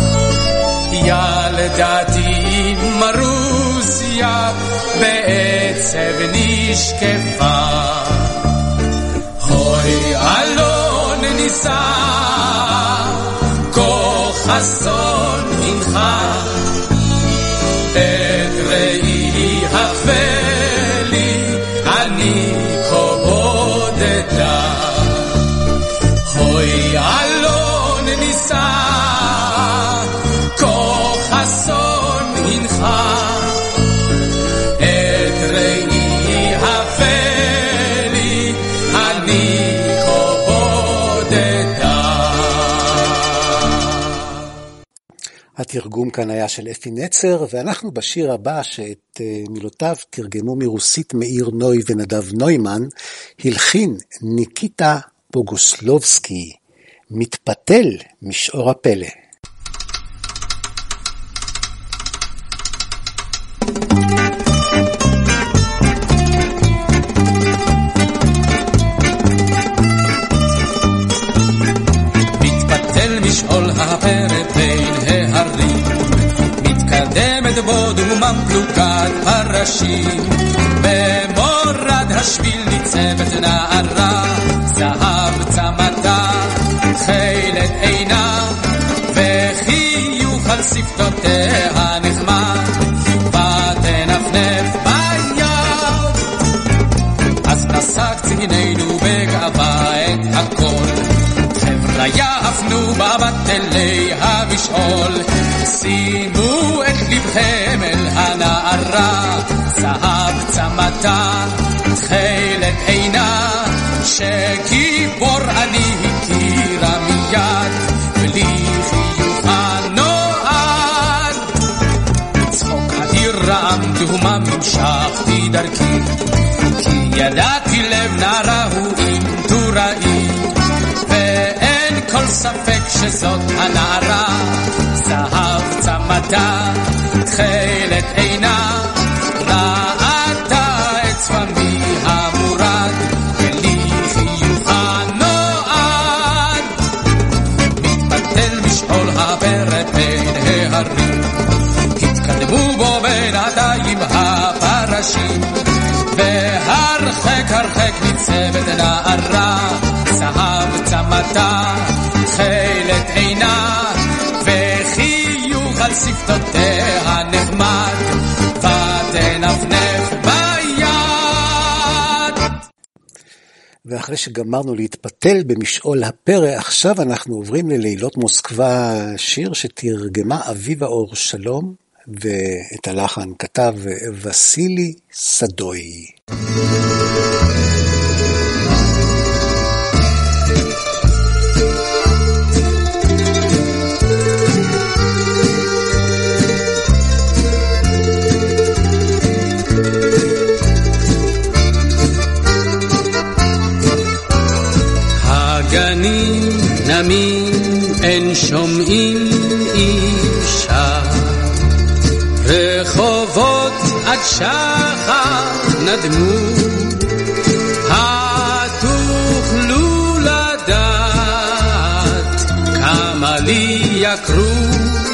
Speaker 7: ילדתי מרוסיה בעצב נשקפה, הוי אלון נישא כוח אסון הנחה, את ראי הפלי אני כה בודדה, הוי אלון נישא כוח אסון הנחה, את ראי הפלי אני כה בודדה.
Speaker 1: התרגום כאן היה של אפי נצר, ואנחנו בשיר הבא שאת מילותיו תרגמו מרוסית מאיר נוי ונדב נוימן, הלחין ניקיטה בוגוסלובסקי, מתפתל משאור הפלא.
Speaker 7: מתפתל משאול הפלא בין ההרים, מתקדמת בו דומם פלוגת פרשים, במורד השביל ניצבת נערה, זהב צמתה, תכלת עינה, וחיוך על שפתותיה נחמד, ותנפנף ביד, אז נסק ציני הפנו מבט אלי המשעול, שימו את לבכם אל הנערה, זהב צמתה, תכלת עינה, שגיבור אני הכירה מיד, בלי חיוך הנועד. צחוק אדיר רעם דהומה המשכתי דרכי, כי ידעתי לב נערה הוא אם תוראי, ואין כל ספק שזאת הנערה, זהב צמתה, תכלת עינה, ראתה את צפמי המורד, בלי חיוך הנועד. מתפתל משעול הפרא בין ההרים, התקדמו בו בינתיים הפרשים, והרחק הרחק ניצבת נערה, זהב צמתה, תכלת עינה, וחיוך על שפתותיה נחמד, ותנפנף ביד.
Speaker 1: ואחרי שגמרנו להתפתל במשעול הפרא, עכשיו אנחנו עוברים ללילות מוסקבה, שיר שתרגמה אביבה אור שלום, ואת הלחן כתב וסילי סדוי.
Speaker 8: הגנים נמים אין שומעים אישה, רחובות עד שחר נדמו, התוכלו לדעת כמה לי יקרו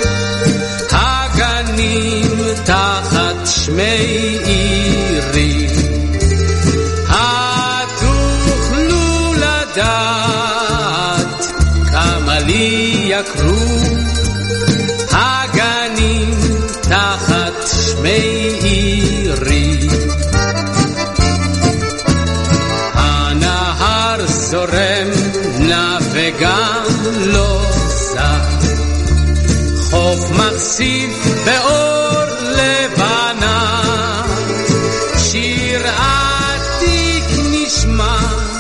Speaker 8: הגנים תחת שמי עירי, התוכלו לדעת כמה לי יקרו הגנים תחת שמי עירי. הנהר זורם נע וגם לא זז, חוף מחשיף באור לבנה, שיר עתיק נשמע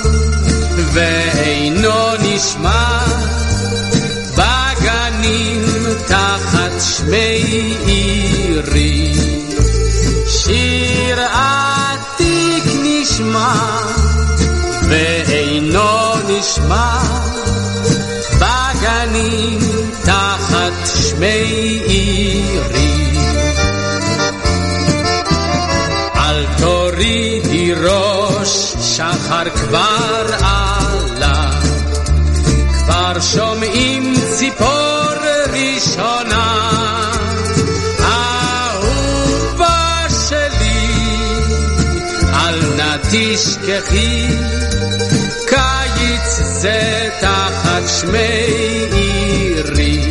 Speaker 8: ואינו נשמע בגנים תחת שמי עירי. שיר עתיק נשמע ואינו נשמע בגנים תחת שמי עירי. אל תורידי ראש, שחר כבר עלה, כבר שומעים ציפור ראשונה, אהובה שלי אל נא תשכחי, קיץ זה תחת שמי עירי.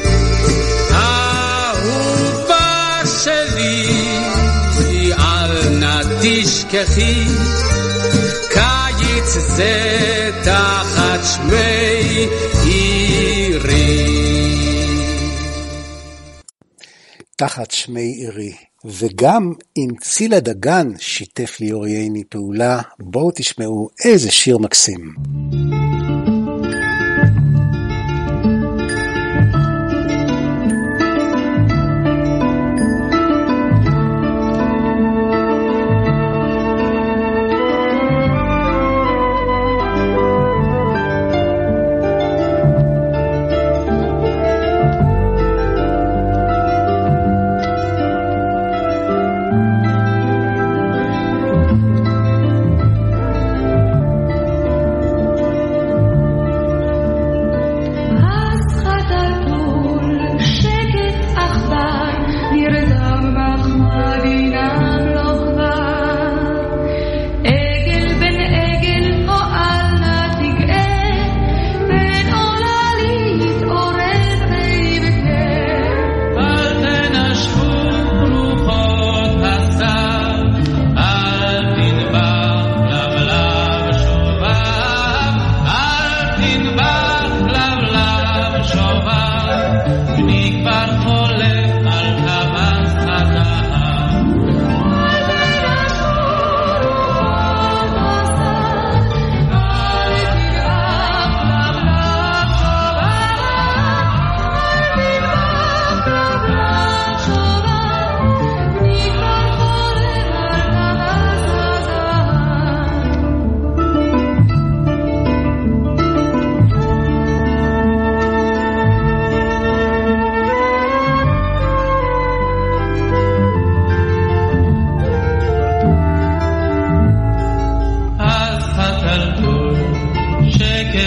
Speaker 8: אהובה שלי אל נא תשכחי, קיץ זה תחת שמי עירי.
Speaker 1: תחת שמי עירי. וגם אם צילה דגן שיתף ליאור ייני פעולה, בואו תשמעו איזה שיר מקסים.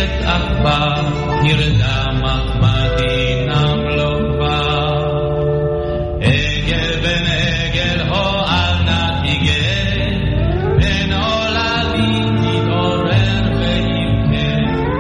Speaker 8: שקט עכבר ירדה מחמדי נמלוך בה עגל בן עגל הועל נתיגה בן עולדי תתעורר ויבכה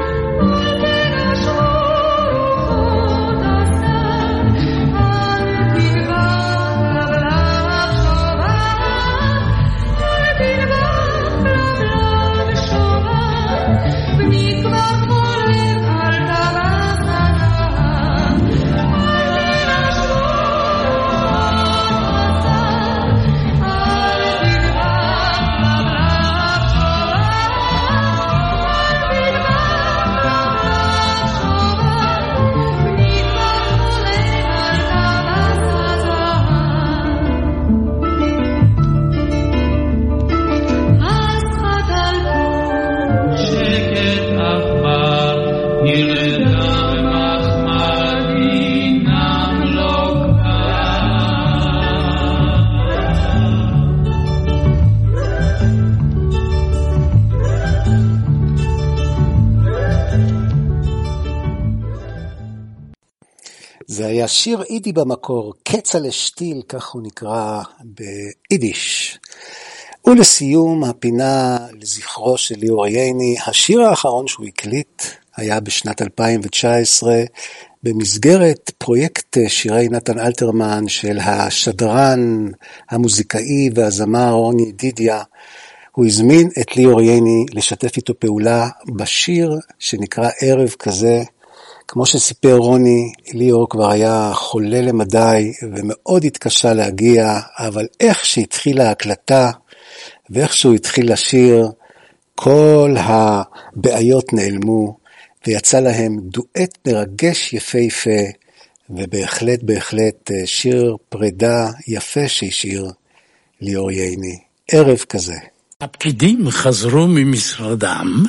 Speaker 1: זה היה שיר אידי במקור, קצה שטיל, כך הוא נקרא ביידיש. ולסיום הפינה לזכרו של ליאור ייני, השיר האחרון שהוא הקליט היה בשנת אלפיים תשע עשרה, במסגרת פרויקט שירי נתן אלתרמן של השדרן, המוזיקאי והזמר רוני דידיה. הוא הזמין את ליאור ייני לשתף איתו פעולה בשיר שנקרא ערב כזה. כמו שסיפר רוני, ליאור כבר היה חולה למדי ומאוד התקשה להגיע, אבל איך שהתחילה ההקלטה ואיך שהוא התחיל לשיר, כל הבעיות נעלמו ויצא להם דואט מרגש יפהפה, ובהחלט בהחלט שיר פרידה יפה שהשאיר ליאור ייני. ערב כזה.
Speaker 9: הפקידים חזרו ממשרדם,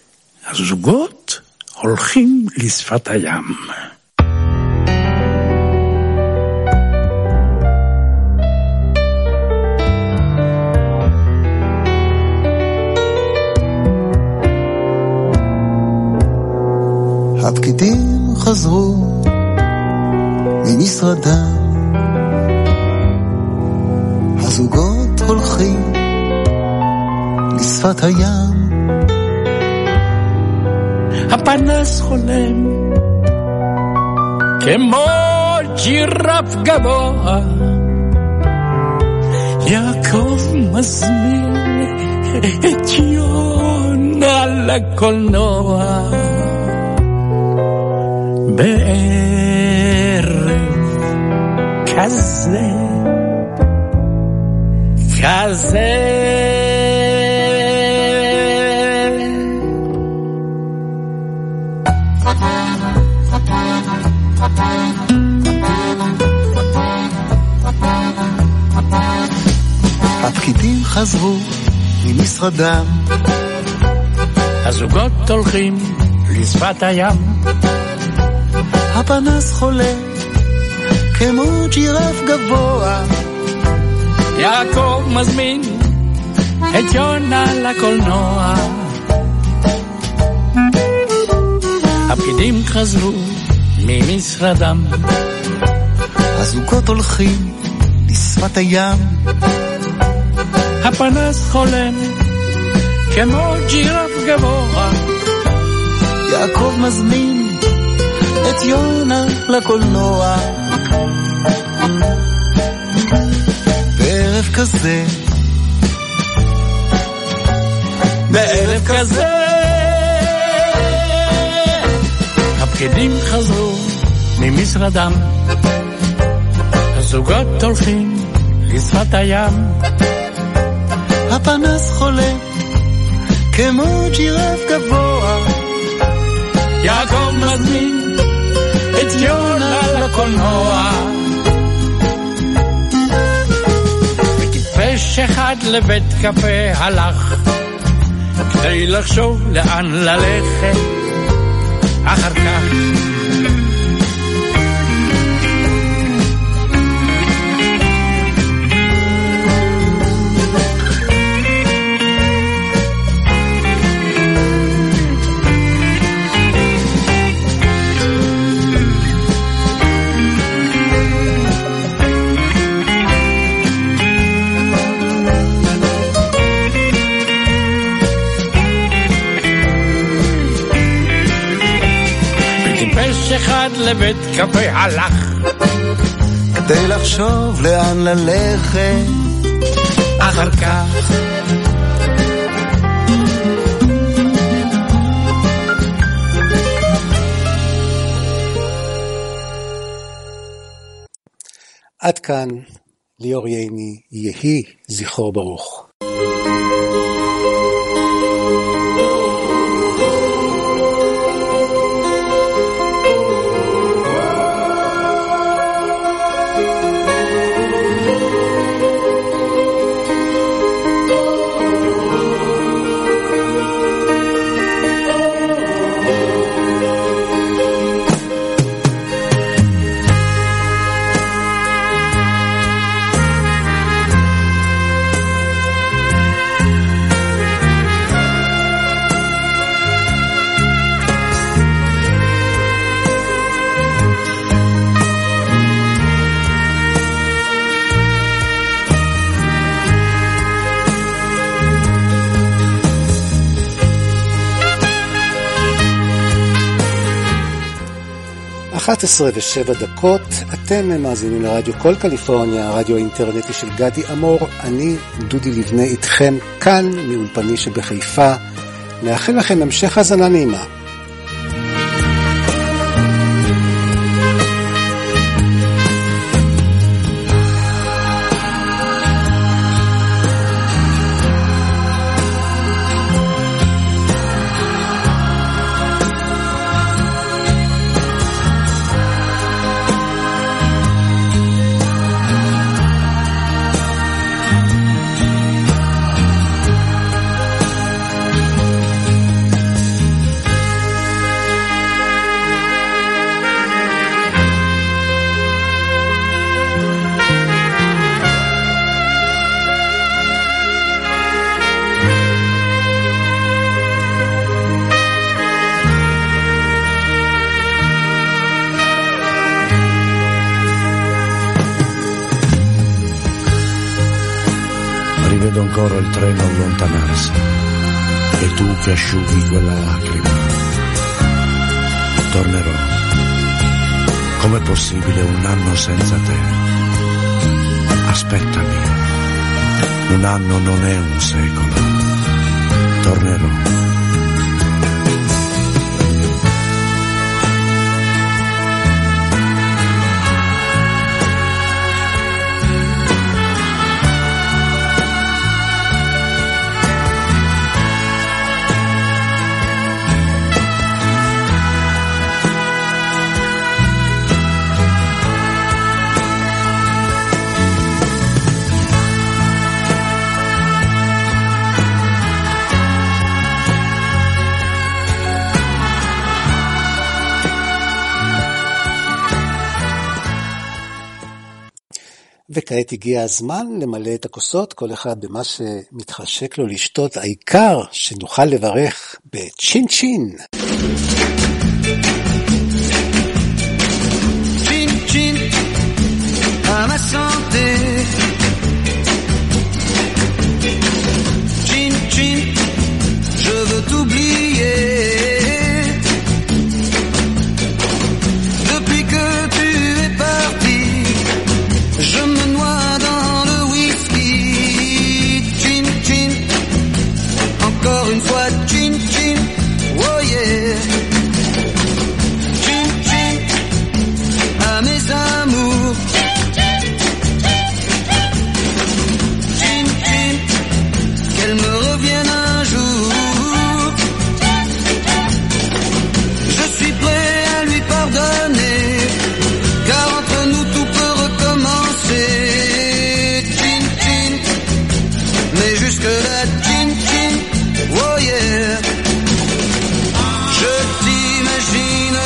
Speaker 9: הזוגות הולכים לשפת הים.
Speaker 10: הפקידים חזרו ממשרדם, הזוגות הולכים לשפת הים.
Speaker 9: הפנס חולם כמו ג'ירף גבוה, יעקב מזמין את יונה לקולנוע. בערב כזה כזה
Speaker 10: הפקידים חזרו ממשרדם,
Speaker 9: הזוגות הולכים לשפת הים.
Speaker 10: הפנס חולה כמו ג'ירף גבוה,
Speaker 9: יעקב מזמין את יונה לקולנוע. הפקידים חזרו ממשרדם,
Speaker 10: הזוגות הולכים לשפת הים.
Speaker 9: הפנס חולם כמו ג'ירף גבוה,
Speaker 10: יעקב מזמין את יונה לקולנוע. בערב כזה
Speaker 9: בערב כזה הפקידים חזרו ממשרדם, הזוגות הולכים לשפת הים.
Speaker 10: הפנס חולה כמו ג'ירף גבוה,
Speaker 9: יעקב מזמין את יונה לקולנוע. וטיפש אחד לבית קפה הלך כדי לחשוב לאן ללכת אחר כך. טיפש אחד לבית קפה הלך
Speaker 10: כדי לחשוב לאן ללכת
Speaker 9: אחר כך.
Speaker 1: עד כאן ליאור ייני, יהי זכרו ברוך. אחת עשרה ושבע דקות, אתם מאזינים לרדיו כל קליפורניה, הרדיו האינטרנטי של גדי אמור. אני דודי לבנה איתכם כאן מאולפני שבחיפה. נאחל לכם המשך האזנה נעימה.
Speaker 11: Vedo ancora il treno allontanarsi e tu che asciughi quella lacrima. Tornerò. Com'è possibile un anno senza te? Aspettami. Un anno non è un secolo. Tornerò.
Speaker 1: וכעת הגיע הזמן למלא את הכוסות, כל אחד במה שמתחשק לו לשתות, העיקר שנוכל לברך בצ'ין צ'ין.
Speaker 10: צ'ין צ'ין, à ma santé. Chin chin, je veux t'oublier. Depuis que tu es parti, je me noie dans le whisky. Chin chin, encore une fois chin chin, oh yeah. Chin chin, à mes amours. Chin chin, qu'elle me revienne un jour. Je suis prêt à lui pardonner, car entre nous tout peut recommencer. Chin chin, mais jusque là chin chin, oh yeah. Je t'imagine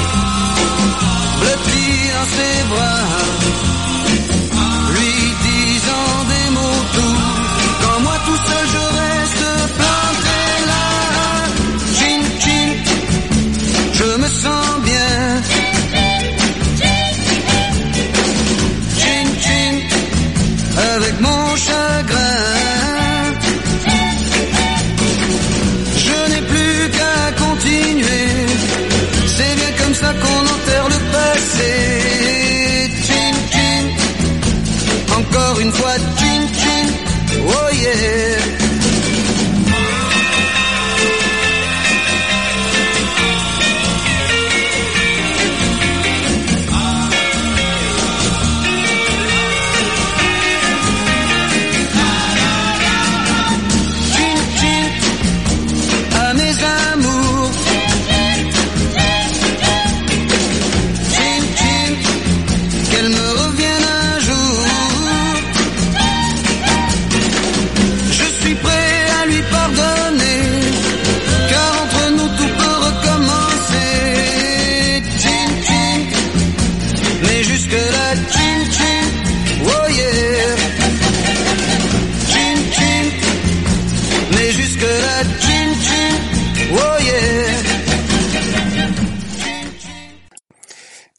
Speaker 10: blotti dans ses bras, lui disant des mots doux, quand moi tout seul je reste planté là. Chin chin, je me sens bien. Chin chin, avec mon chagrin. Je n'ai plus qu'à continuer, c'est bien comme ça qu'on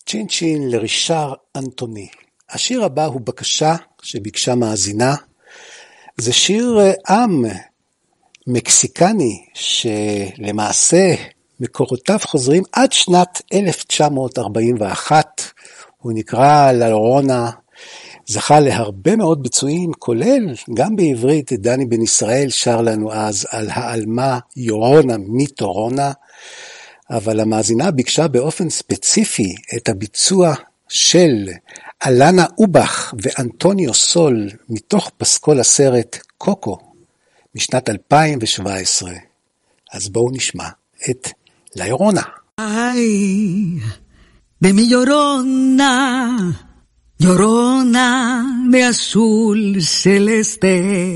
Speaker 1: צ'ין צ'ין לרישר אנטוני. השיר הבא הוא בקשה שביקשה מאזינה. זה שיר עם מקסיקני שלמעשה מקורותיו חוזרים עד שנת אלף תשע מאות ארבעים ואחת. הוא נקרא לה לורונה, זכה להרבה מאוד ביצועים, כולל גם בעברית. דני בן ישראל שר לנו אז על העלמה יורונה מטורונה, אבל המאזינה ביקשה באופן ספציפי את הביצוע של אלנה אובך ואנטוניו סול מתוך פסקול הסרט קוקו משנת אלפיים שבע עשרה. אז בואו נשמע את La Llorona.
Speaker 12: Ay, de mi llorona, llorona de azul celeste.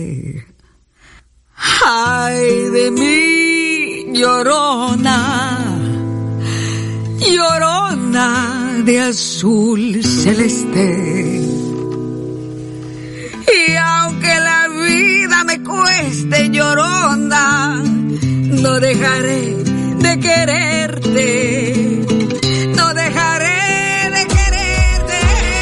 Speaker 12: Ay, de mi llorona, llorona de azul celeste. Y aunque la vida me cueste, llorona, no dejaré de quererte, no dejaré de quererte.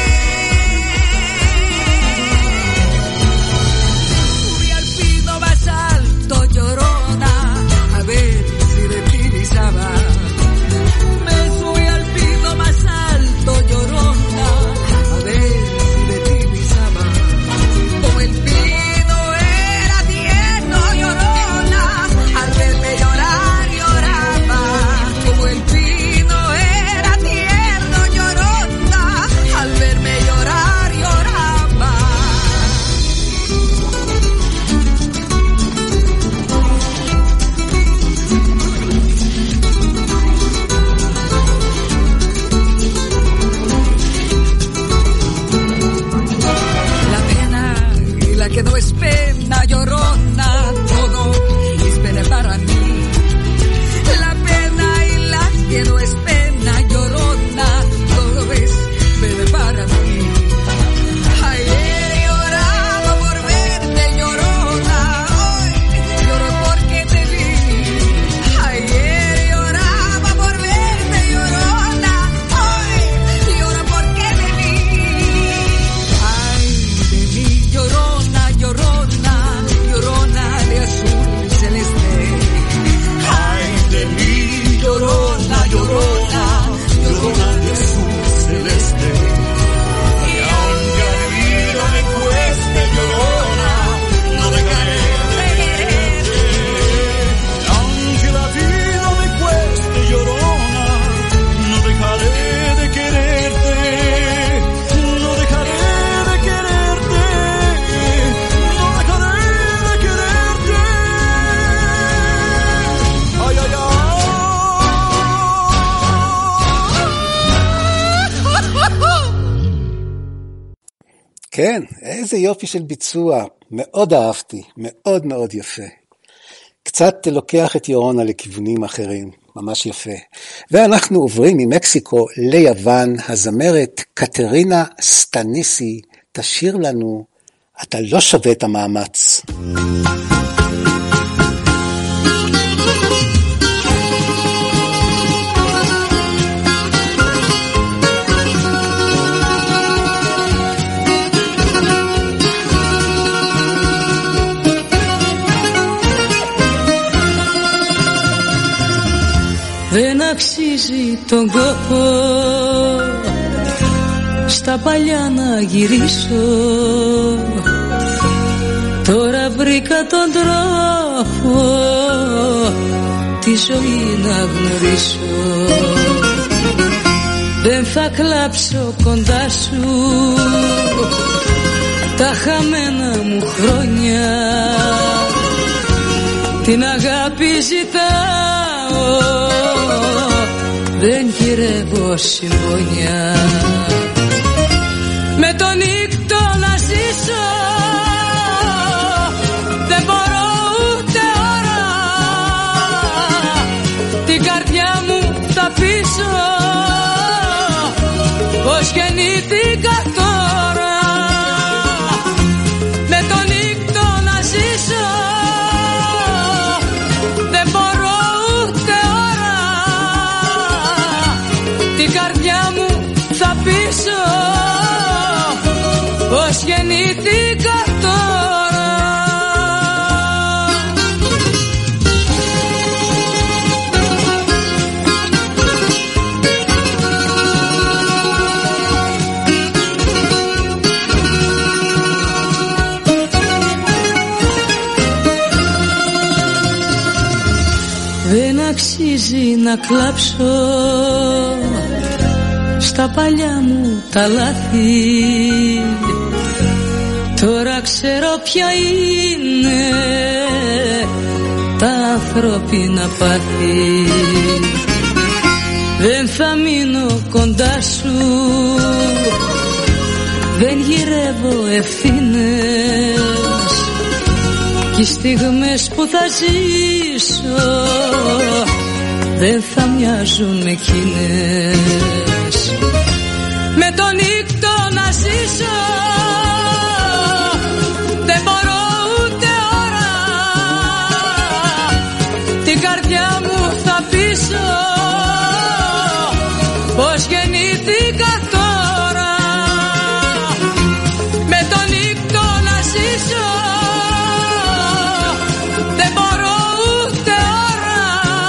Speaker 12: Fui al pino más alto, llorona, a ver si de ti pisaba. Me fui al pino más alto, llorona, a ver si de ti pisaba. Como el pino era tierno, llorona, al verme llorar, lloraba. Como el pino era tierno, llorona, al verme llorar, lloraba. La pena y la que no es pena, llorona, todo es pena para mí. La pena y la que no es pena, llorona, todo es pena para mí. Ayer lloraba por verte, llorona, hoy lloro porque te vi. Ayer lloraba por verte, llorona, hoy lloro porque te vi. Ay, de mí, llorona, llorona, llorona de azul celeste. Ay, de mí, llorona, llorona, llorona de azul celeste. Y aunque la vida me cueste, llorona, no dejaré de quererte.
Speaker 2: Aunque la vida me cueste, llorona, no dejaré de quererte, no dejaré de quererte, no dejaré de quererte. Ay, ay, ay.
Speaker 1: כן, איזה יופי של ביצוע, מאוד אהבתי, מאוד מאוד יפה. קצת לוקח את יורונה לכיוונים אחרים, ממש יפה. ואנחנו עוברים ממקסיקו ליוון. הזמרת קטרינה סטניסי תשיר לנו אתה לא שווה את המאמץ.
Speaker 13: Δεν αξίζει τον κόπο στα παλιά να γυρίσω. Τώρα βρήκα τον τρόπο τη ζωή να γνωρίσω. Δεν θα κλάψω κοντά σου τα χαμένα μου χρόνια. Την αγάπη ζητάω, δεν γυρεύω συμπόνια. Με τον νύκτο να ζήσω, δεν μπορώ ούτε ώρα. Την καρδιά μου θα πείσω πως γεννήθηκα τώρα. Με τον νύκτο να ζήσω, δεν μπορώ ούτε ώρα. Την καρδιά μου να κλάψω στα παλιά μου τα λάθη. Τώρα ξέρω ποια είναι τα ανθρώπινα πάθη. Δεν θα μείνω κοντά σου, δεν γυρεύω ευθύνες, κι οι στιγμές που θα ζήσω δεν θα μοιάζουν με εκείνες. Με τον νύκτο να ζήσω δεν μπορώ ούτε ώρα, την καρδιά μου θα πείσω πως γεννήθηκα τώρα. Με τον νύκτο να ζήσω δεν μπορώ ούτε ώρα,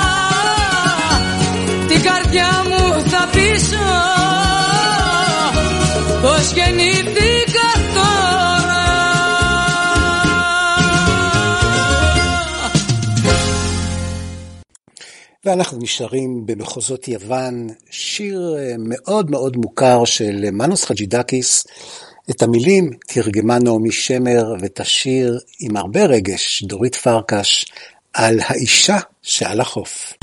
Speaker 13: την καρδιά μου θα πείσω πως γεννήθηκα τώρα.
Speaker 1: ואנחנו נשארים במחוזות יוון, שיר מאוד מאוד מוכר של מנוס חג'ידקיס. את המילים תרגמה נעמי שמר, ואת השיר עם הרבה רגש דורית פרקש על האישה שעל החוף.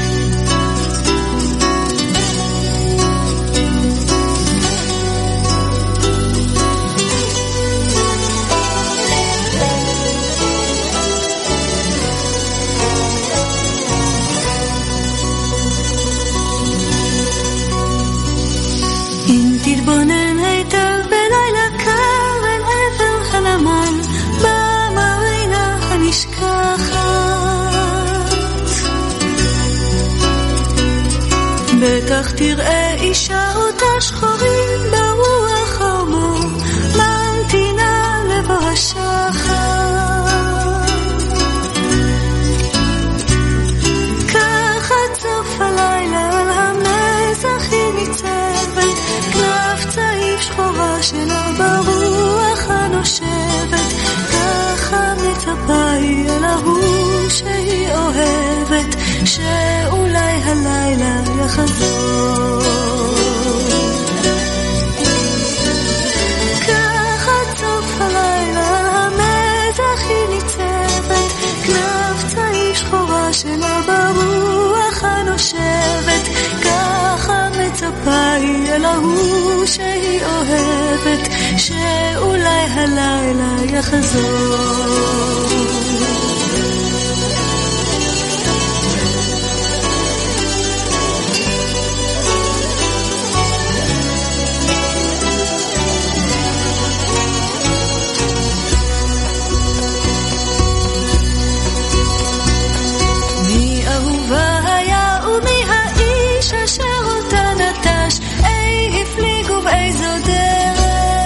Speaker 14: תתבונן היטב בלילה קר אל עבר הנמל במרינה הנשכחת. בטח תראה אישה אותה שחורים ברוח הרמור ממתינה לבוא השחר. כך עד סוף הלילה על המזח היא ניצבת, כנף צעיף שחורה שלה ברוח הנושבת. ככה מצפה היא אל ההוא שהיא אוהבת, שאולי הלילה יחזור. ככה סוף הלילה המזח היא ניצבת, כנף צעיף שחורה שלה ברוח הנושבת. ככה מצפה היא אל ההוא שהיא אוהבת, שאולי הלילה יחזור. מי אהובה היה ומי האיש אשר אותה נטש, אי הפליגו באיזו דרך.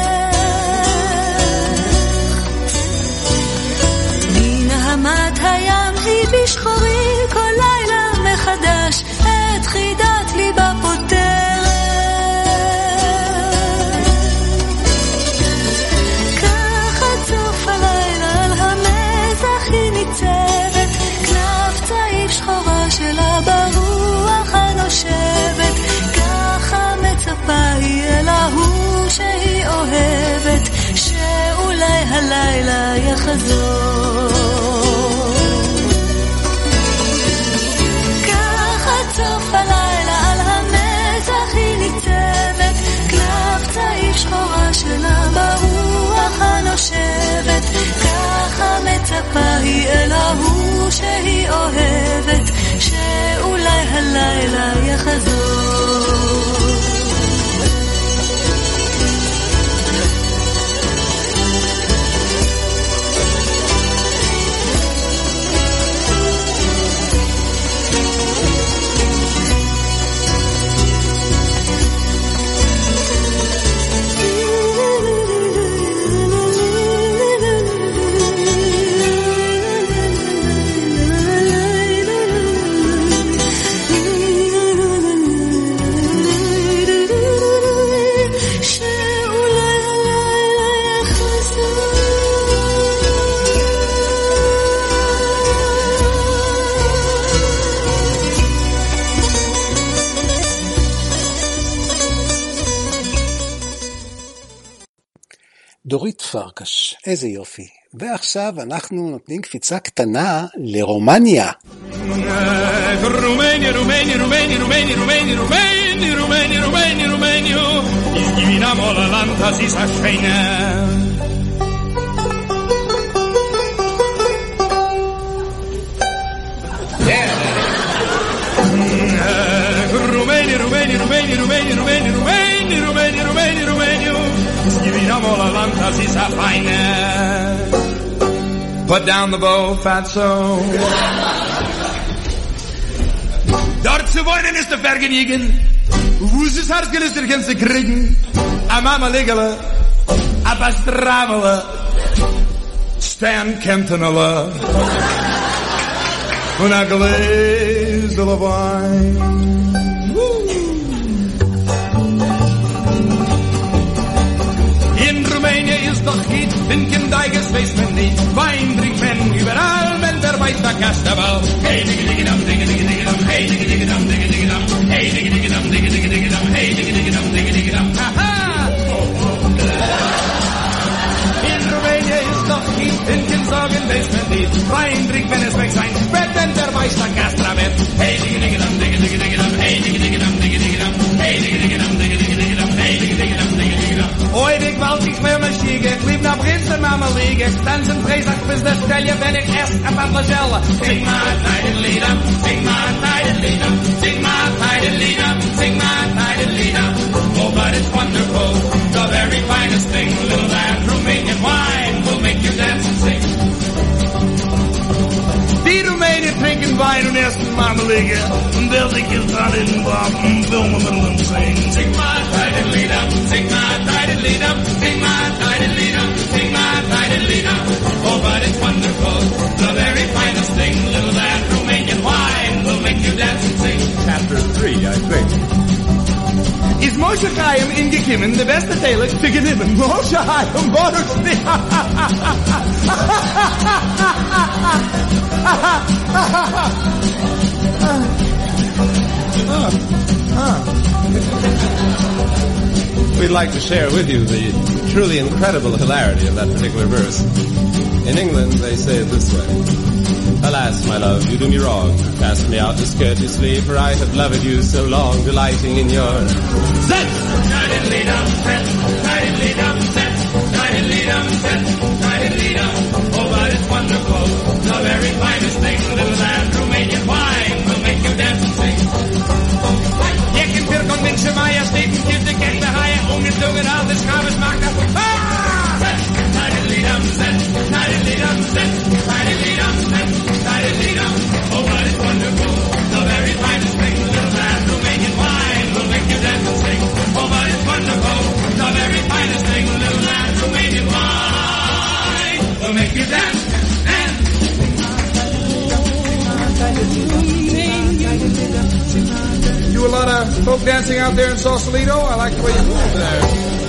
Speaker 14: מנהמת הים היא בשחורי כל לילה מחדש, את חידת ליבה פותרת. כך עד סוף הלילה על המזח היא ניצבת, כנף צעיף שחורה שלה ברוח הנושבת. ככה מצפה היא אל ההוא שהיא אוהבת, שאולי הלילה יחזור. ככה סוף הלילה על המזח היא ניצבת, כנף צעיף שחורה שלה ברוח הנושבת. ככה מצפה היא אל ההוא שהיא אוהבת, שאולי הלילה יחזור.
Speaker 1: דורית פרקש, איזה יופי. ועכשיו אנחנו נותנים קפיצה קטנה לרומניה.
Speaker 2: רומניה, רומניה, רומניה, רומניה, רומניה, רומניה, רומניה, רומניה, רומניה, izginamo la lanta si sa schweine. Romania, Romania, Romania, Romania, Romania, Romania, Romania, Romania, Romania, izginamo la lanta si sa feine. Put down the bow, fatso. Dort zu wohnen ist der Vergnügen. Wo ist das Herzgel der ganze kriegen? A mama legele, a bastramele, Stan Kentonala, und a glaze of wine. In Rumänien ist doch geht, Winken Deiges weiß man nicht, Wein trinkt man überall, wenn der weiß der Kastabal. Hey, digga, digga, dam, digga, digga, digga, dam, hey, digga, digga, dam, digga, digga, dam, hey, digga, digga, dam, digga, digga, digga, dam, hey, digga, digga, dam, digga, digga, dam, haha! In Rumänien ist doch geht, Winken sagen weiß man nicht, Wein trinkt man es weg sein, Spread, wenn der weiß der Kastabal. Hey, digga, digga, dam, digga, digga, digga, dam, hey, digga, digga, dam, digga, digga, dam, hey, digga, digga, dam, digga, digga, digga, dam, hey, digga, digga, dam, digga, digga, dam. Oi, ik wou iets meer mijn schiegen, ik liep naar Prinsen maar mijn liegen. Dansen vreselijk bis de stelje ben ik eerst een van de zellen. Sing maar tijdenlieder, sing maar tijdenlieder, sing maar tijdenlieder, sing maar tijdenlieder. Oh, but it's wonderful, the very finest thing, little that Romanian wine will make you dance and sing. Die Roemenen drinken wijn en eerst marmelige. Wil ik je dan in wapen filmen met hem zingen. Sing maar tijdenlieder, sing maar tijdenlieder, sing maar tijdenlieder, sing maar tijdenlieder. Oh, but it's wonderful, the very finest thing, little that Romanian wine will make you dance and sing. Chapter three, I think. Is Moshe Chaim ingekimmen, de beste telig te genimmen. Moshe Chaim, Moshe
Speaker 15: We'd like to share with you the truly incredible hilarity of that particular verse. In England, they say it this way. Alas, my love, you do me wrong. Cast me out discourteously, for I have loved you so long, delighting in your Zet!
Speaker 2: Tijdenlieder, zet, tijdenlieder, zet, tijdenlieder, zet, tijdenlieder. Oh, but it's wonderful, the very finest thing, little that Romanian wine will make you dance and sing. Je kunt weer kon mensen majesteit, kind de kent de haaien, ongedungen, al de schabers maakt dat. Tijdenlieder, zet, tijdenlieder, zet, tijdenlieder, zet, tijdenlieder. Oh, but it's wonderful, the very finest thing, little that Romanian wine will make you dance and sing. Oh, but it's wonderful, the very finest thing, little that Romanian wine will make you dance and
Speaker 7: You a lot of folk dancing out there in Sausalito? I like the way you move there.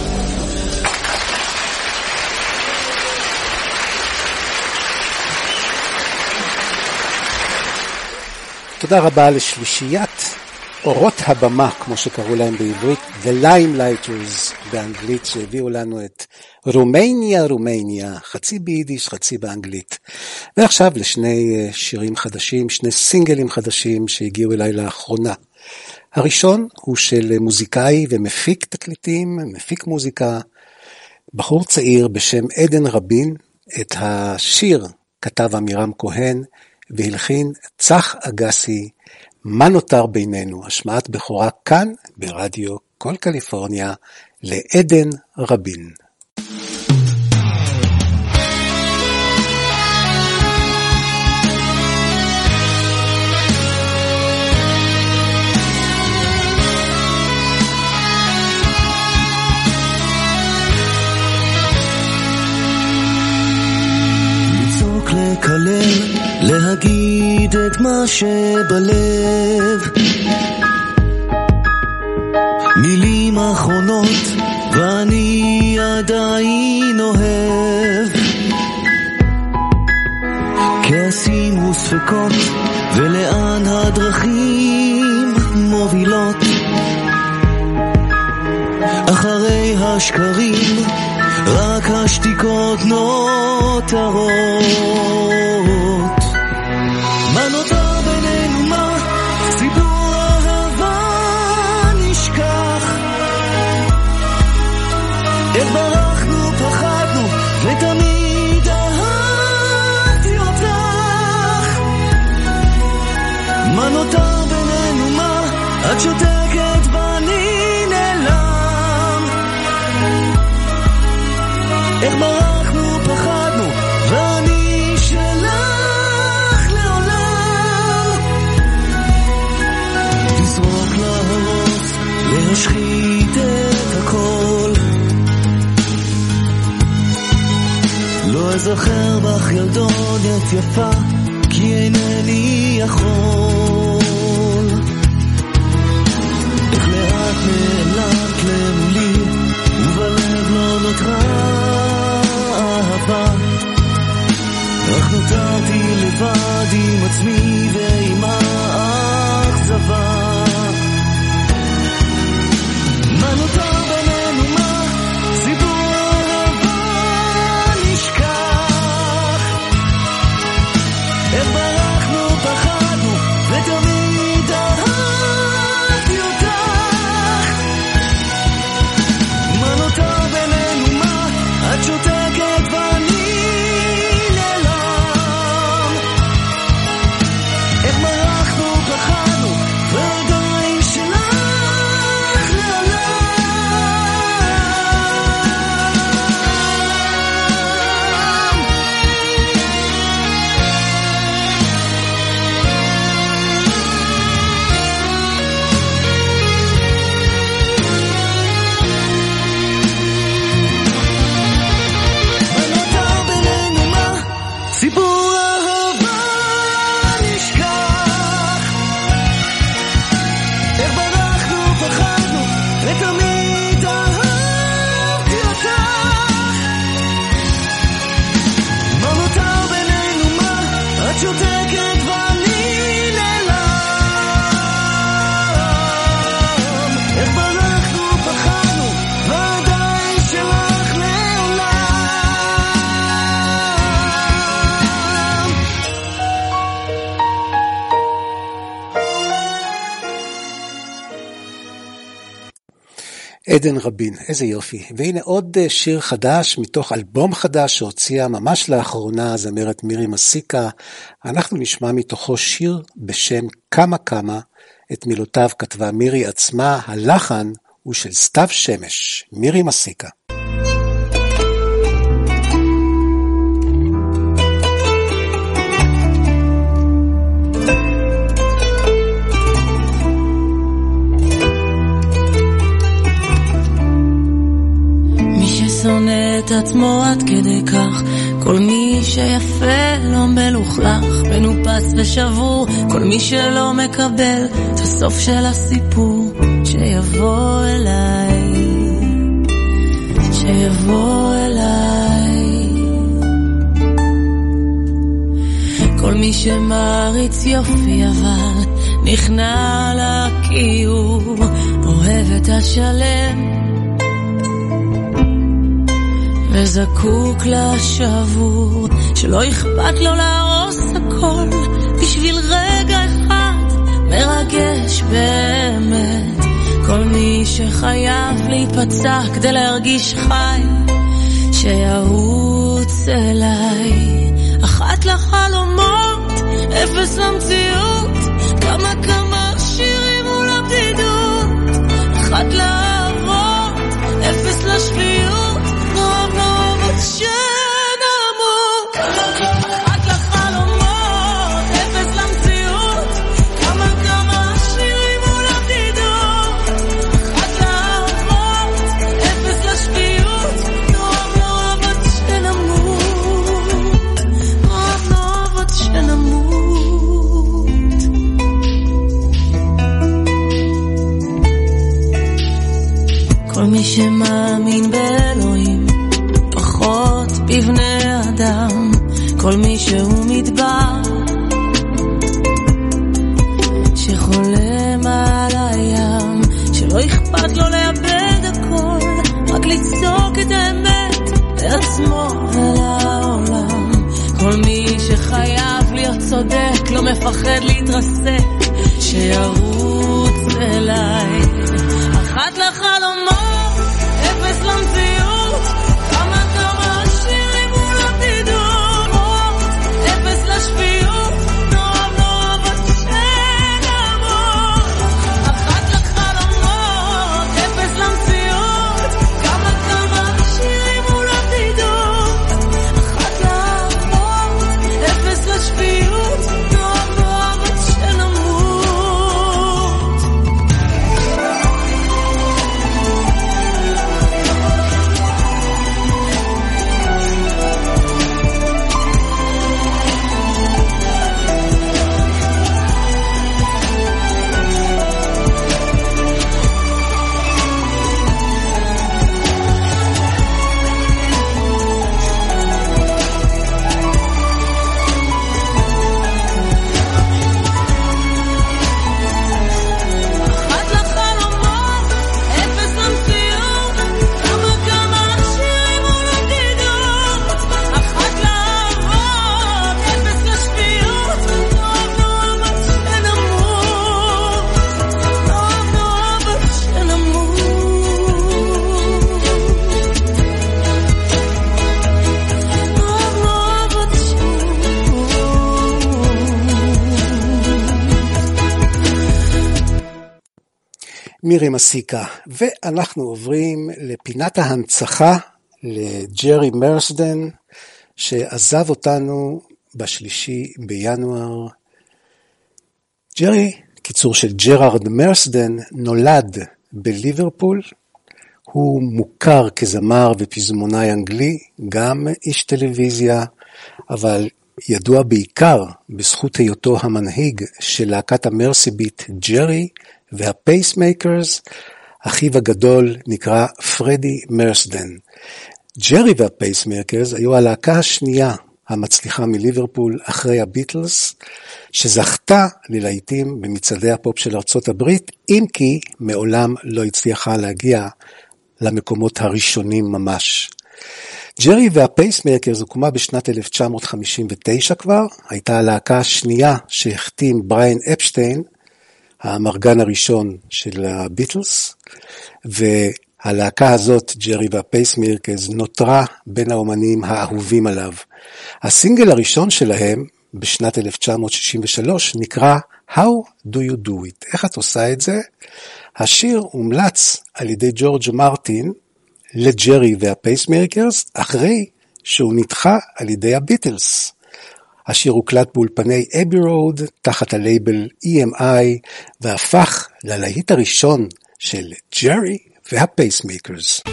Speaker 1: תודה רבה לשלישיית אורות הבמה, כמו שקראו להם בעברית, The Limelighters באנגלית, שהביאו לנו את רומניה, רומניה, חצי ביידיש, חצי באנגלית. ועכשיו לשני שירים חדשים, שני סינגלים חדשים שהגיעו אליי לאחרונה. הראשון הוא של מוזיקאי ומפיק תקליטים, מפיק מוזיקה, בחור צעיר בשם עדן רבין. את השיר כתב אמירם כהן, והלחין צח אגסי, מה נותר בינינו, השמעת בכורה כאן ברדיו כל קליפורניה לעדן רבין.
Speaker 16: לקלל, להגיד את מה שבלב, מילים אחרונות ואני עדיין אוהב, כעסים וספקות ולאן הדרכים מובילות, אחרי השקרים רק השתיקות נותרות. מה נותר בינינו, מה? סיפור אהבה נשכח. איך ברחנו, פחדנו, ותמיד אהבתי אותך. מה נותר בינינו, מה? את שותקת ואני נעלם. איך ברחנו, פחדנו, ואני שלך לעולם. לזרוק, להרוס, להשחית את הכל. לא אזכר בך ילדונת יפה, כי אינני יכול. איך לאט נעלמת למולי, ובלב לא נותרה אהבה. אך נותרתי לבד עם עצמי ועם האכזבה. מה נותר בינינו, מה? סיפור אהבה נשכח. איך ברחנו, פחדנו, ותמיד אהבתי אותך. מה נותר בינינו, מה? את שותקת ואני נעלם. איך ברחנו, פחדנו, ועדיין שלך לעולם. מה נותר בינינו, מה? סיפור אהבה נשכח. איך ברחנו, פחדנו, ותמיד אהבתי אותך. מה נותר בינינו, מה? את שותקת ואני נעלם. איך ברחנו, פחדנו, ועדיין שלך לעולם.
Speaker 1: עדן רבין, איזה יופי. והנה עוד שיר חדש מתוך אלבום חדש שהוציאה ממש לאחרונה זמרת מירי מסיקה. אנחנו נשמע מתוכו שיר בשם כמה כמה. את מילותיו כתבה מירי עצמה, הלחן הוא של סתיו שמש. מירי מסיקה.
Speaker 3: מי ששונא את עצמו עד כדי כך, כל מי שיפה לא מלוכלך, מנופץ ושבור, כל מי שלא מקבל את הסוף של הסיפור, שיבוא אליי, שיבוא אליי. כל מי שמריץ יופי אבל נכנע לכיור, אוהב את השלם וזקוק לשבור, שלא אכפת לו להרוס הכל בשביל רגע אחד מרגש באמת. כל מי שחייב להיפצע כדי להרגיש חי, שירוץ אליי. אחת לחלומות, אפס למציאות, כמה כמה שירים מול הבדידות. אחת לאהבות, אפס לשפיות, נאהב נאהב עד שנמות. אחת לחלומות, אפס למציאות, כמה כמה שירים מול הבדידות. אחת לאהבות, אפס לשפיות, נאהב נאהב עד שנמות. נאהב נאהב עד שנמות. כל מי שמאמין באלוהים, פחות בבני אדם. כל מי שהוא מדבר, שחולם על הים, שלא אכפת לו לאבד הכל, רק לצעוק את האמת מפחד להתרסק, שירוץ אליי. אחת לחלומות, אפס למציאות, כמה כמה שירים מול עתידות, אפס לשפיות, נועב נועב עד שנמות. אחת לחלומות, אפס למציאות, כמה כמה שירים מול עתידות, אחת לאהבות, אפס לשפיות, נועב נועב עד שנמות.
Speaker 1: מירי מסיקה, ואנחנו עוברים לפינת ההנצחה לג'רי מרסדן, שעזב אותנו בשלישי בינואר. ג'רי, קיצור של ג'רארד מרסדן, נולד בליברפול, הוא מוכר כזמר ופזמונאי אנגלי, גם איש טלוויזיה, אבל ידוע בעיקר בזכות היותו המנהיג של להקת המרסי ביט ג'רי, והפייסמייקרס. אחיו הגדול נקרא פרדי מרסדן. ג'רי והפייסמייקרס היו הלהקה השנייה המצליחה מליברפול אחרי הביטלס, שזכתה ללהיטים במצעדי הפופ של ארצות הברית, אם כי מעולם לא הצליחה להגיע למקומות הראשונים ממש. ג'רי והפייסמייקרס הוקמה בשנת אלף תשע מאות חמישים ותשע כבר, הייתה הלהקה השנייה שהחתים בריין אפשטיין, המרגן הראשון של הביטלס, והלהקה הזאת, ג'רי והפייסמייקרס, נותרה בין האומנים האהובים עליו. הסינגל הראשון שלהם, בשנת אלף תשע מאות שישים ושלוש, נקרא How Do You Do It? איך את עושה את זה? השיר הומלץ על ידי ג'ורג' מרטין לג'רי והפייסמייקרס, אחרי שהוא נדחה על ידי הביטלס. השיר הוקלט באולפני אבי רוד, תחת הלייבל אי אם איי, והפך ללהיט הראשון של ג'רי והפייסמייקרס.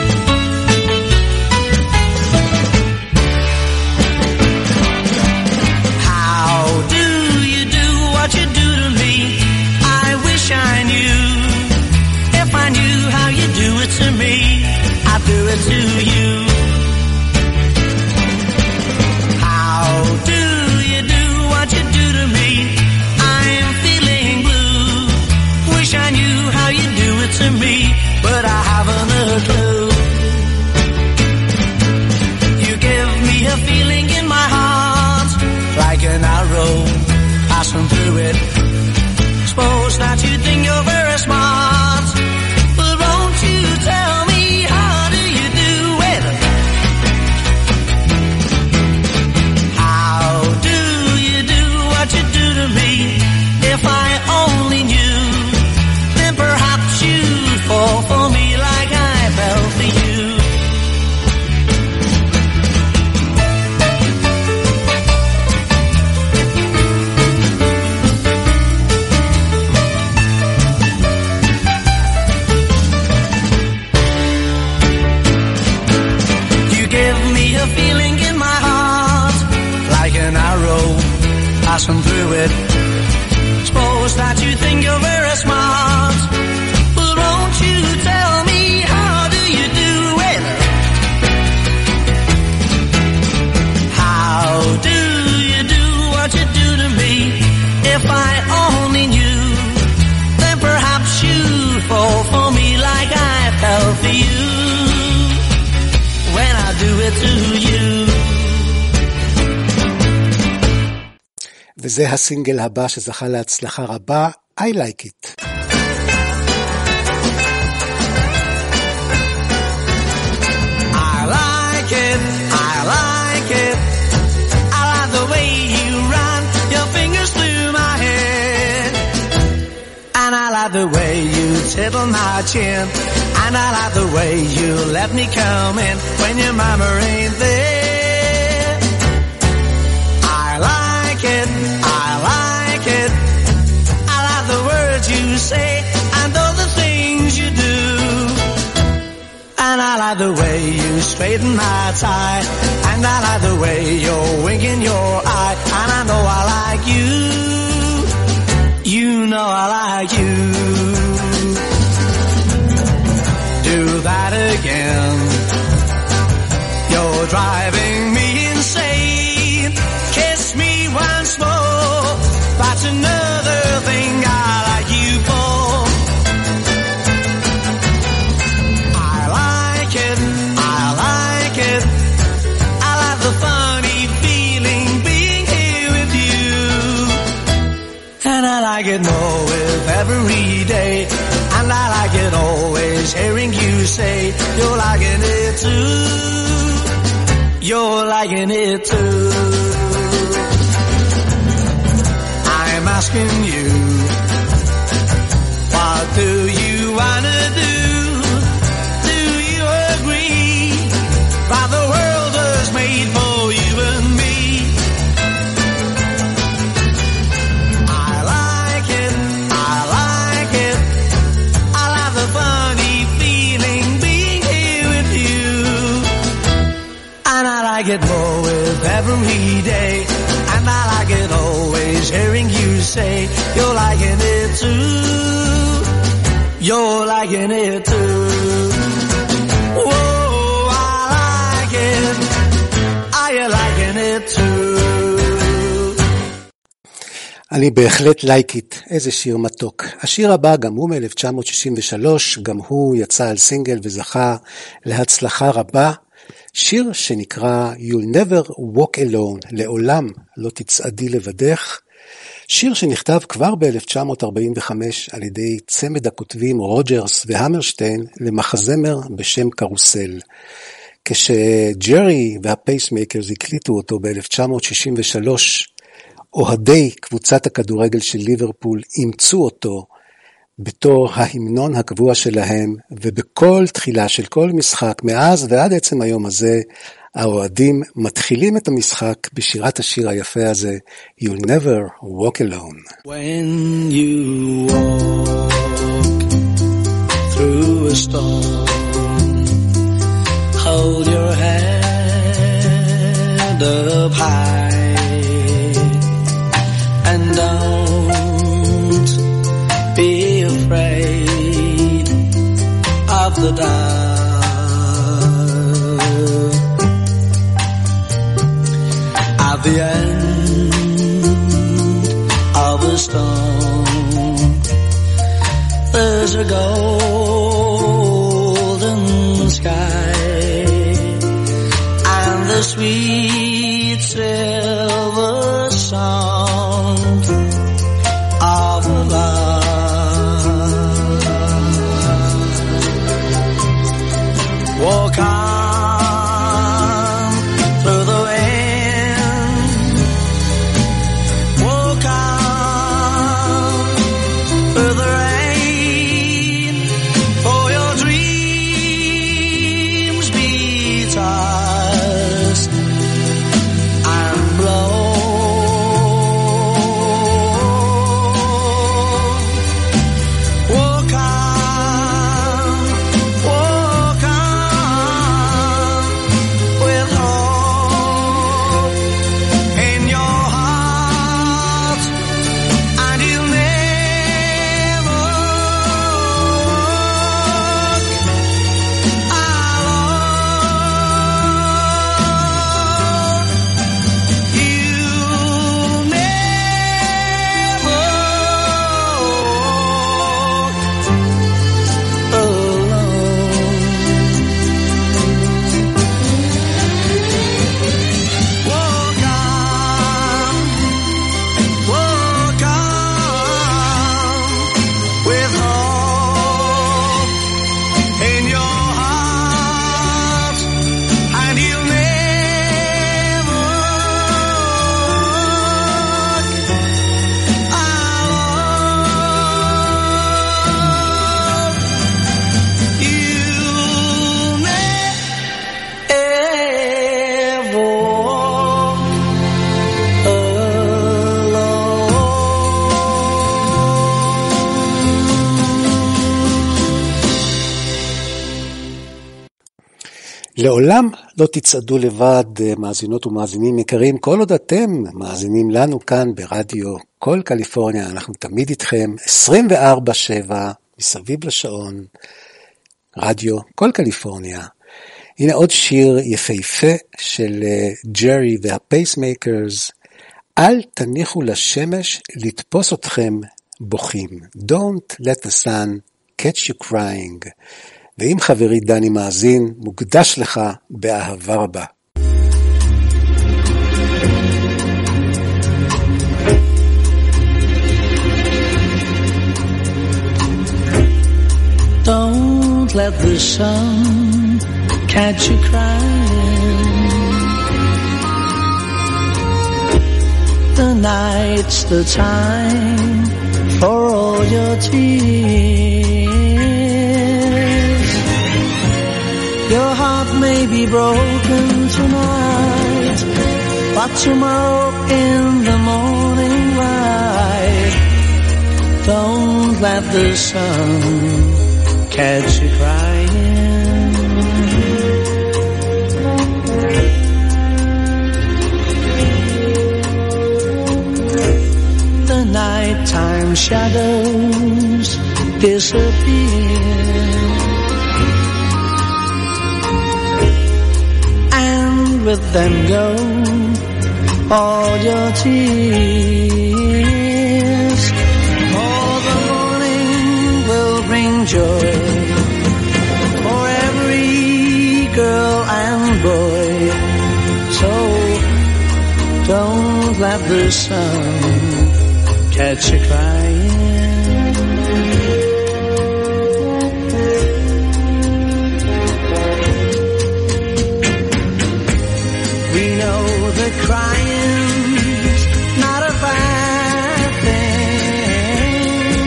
Speaker 17: How do you do what you do to me? I wish I knew. If I knew how you do it to me, I'd do it to you. How do you do what you do to me? I'm feeling blue. Wish I knew how you do it to me, but I haven't a clue. You give me a feeling in my heart, like an arrow passing through it. Suppose that you think you're very smart, but won't you tell me how do you do it? How do you do what you do to me? If I only knew, then perhaps you'd fall for me like I fell for you. Passing through it. Suppose that you think you're very smart, but won't you tell me how do you do it? How do you do what you do to me? If I only knew, then perhaps you'd fall for me like I fell for you when I do it to you.
Speaker 1: וזה הסינגל הבא שזכה להצלחה רבה, I Like It.
Speaker 17: I like it, I like it, I like the way you run your fingers through my hair, and I like the way you tickle my chin, and I like the way you let me come in when your mama ain't there. I like it, I like it, I like the words you say and all the things you do, and I like the way you straighten my tie, and I like the way you're winking your eye, and I know I like you, you know I like you. Do that again, you're driving me insane, kiss me once more, that's another thing I like you for. I like it, I like it, I like the funny feeling being here with you, and I like it more with every day, and I like it always hearing you say you're liking it too, you're liking it too. I'm asking you, what do you wanna do? Do you agree that the world was made for you and me? I like it, I like it, I like the funny feeling being here with you, and I like it more with every day, and I like it always hearing you say you're liking it too, you're liking it too. Whoa, I like it, are you liking it too?
Speaker 1: אני בהחלט like it, איזה שיר מתוק. השיר הבא גם הוא מ-אלף תשע מאות שישים ושלוש, גם הוא יצא על סינגל וזכה להצלחה רבה. שיר שנקרא You'll Never Walk Alone, לעולם לא תצעדי לבדך. שיר שנכתב כבר ב-אלף תשע מאות ארבעים וחמש על ידי צמד הכותבים רוג'רס והמרשטיין למחזמר בשם קרוסל. כשג'רי והפייסמייקרס הקליטו אותו ב-אלף תשע מאות שישים ושלוש, אוהדי קבוצת הכדורגל של ליברפול אימצו אותו בתור ההמנון הקבוע שלהם, ובכל תחילה של כל משחק, מאז ועד עצם היום הזה, האוהדים מתחילים את המשחק בשירת השיר היפה הזה, You'll Never Walk Alone.
Speaker 17: When you walk through a storm, hold your head up high, and don't be afraid of the dark. At the end of a storm, there's a golden sky, and the sweet silver sound of love. Walk on through the wind, walk on through the rain, for your dreams be tossed and blown. Walk on, walk on.
Speaker 1: לעולם לא תצעדו לבד, מאזינות ומאזינים יקרים, כל עוד אתם מאזינים לנו כאן ברדיו כל קליפורניה, אנחנו תמיד איתכם עשרים וארבע שבע מסביב לשעון, רדיו כל קליפורניה. הנה עוד שיר יפהפה של ג'רי והפייסמייקרס, אל תניחו לשמש לתפוס אתכם בוכים. Don't let the sun catch you crying. ואם חברי דני מאזין, מוקדש לך באהבה רבה.
Speaker 17: Don't let the sun catch you crying. The night's the time for all your tears. Your heart may be broken tonight, but tomorrow in the morning light, don't let the sun catch you crying. The nighttime shadows disappear, and with them go all your tears. For the morning will bring joy for every girl and boy. So don't let the sun catch you crying. We know that crying's not a bad thing,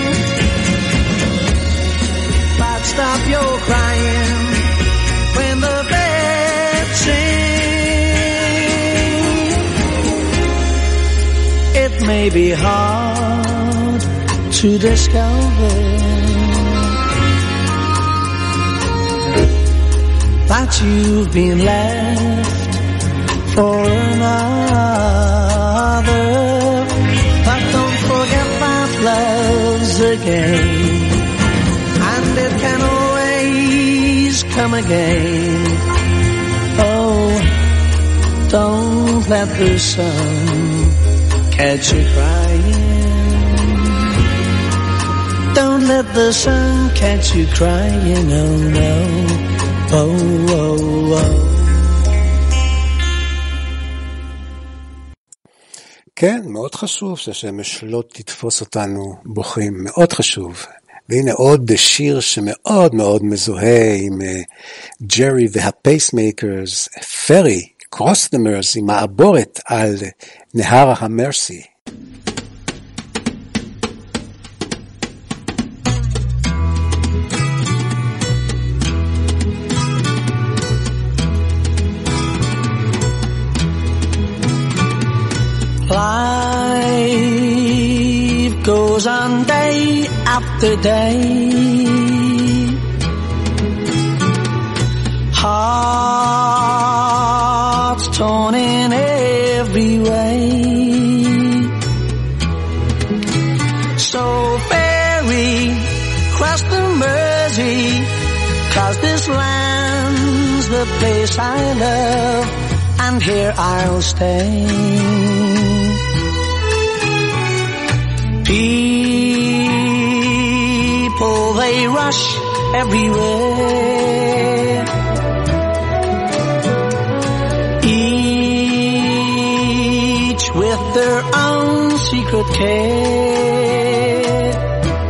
Speaker 17: but stop your crying when the birds sing. It may be hard to discover that you've been left for another, but don't forget that love's a game, and it can always come again. Oh, don't let the sun catch you crying. Don't let the sun catch you crying, oh no, oh, oh, oh.
Speaker 1: כן, מאוד חשוב שהשמש לא תתפוס אותנו בוכים, מאוד חשוב. והנה עוד שיר שמאוד מאוד מזוהה עם ג'רי והפייסמייקרס, פרי, קרוס דה מרסי, מעבורת על נהר המרסי.
Speaker 17: Life goes on day after day, hearts torn in every way. So ferry, cross the Mersey, 'cause this land's the place I love, and here I'll stay. People, they rush everywhere, each with their own secret care.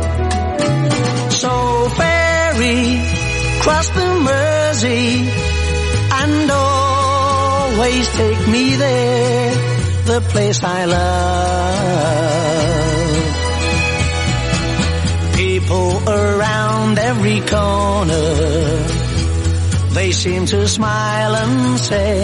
Speaker 17: So ferry, cross the Mersey, and always take me there, the place I love. People around every corner, they seem to smile and say,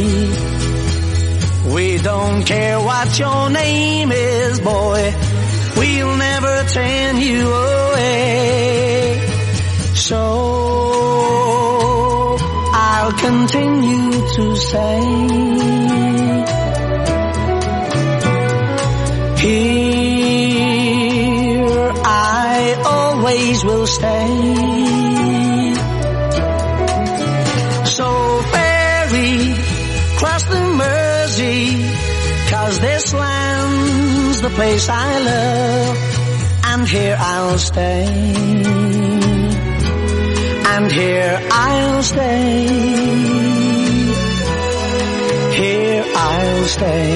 Speaker 17: we don't care what your name is, boy, we'll never turn you away. So I'll continue to say, here I always will stay. So ferry, cross the Mersey, 'cause this land's the place I love, and here I'll stay, and here I'll stay, here I'll stay.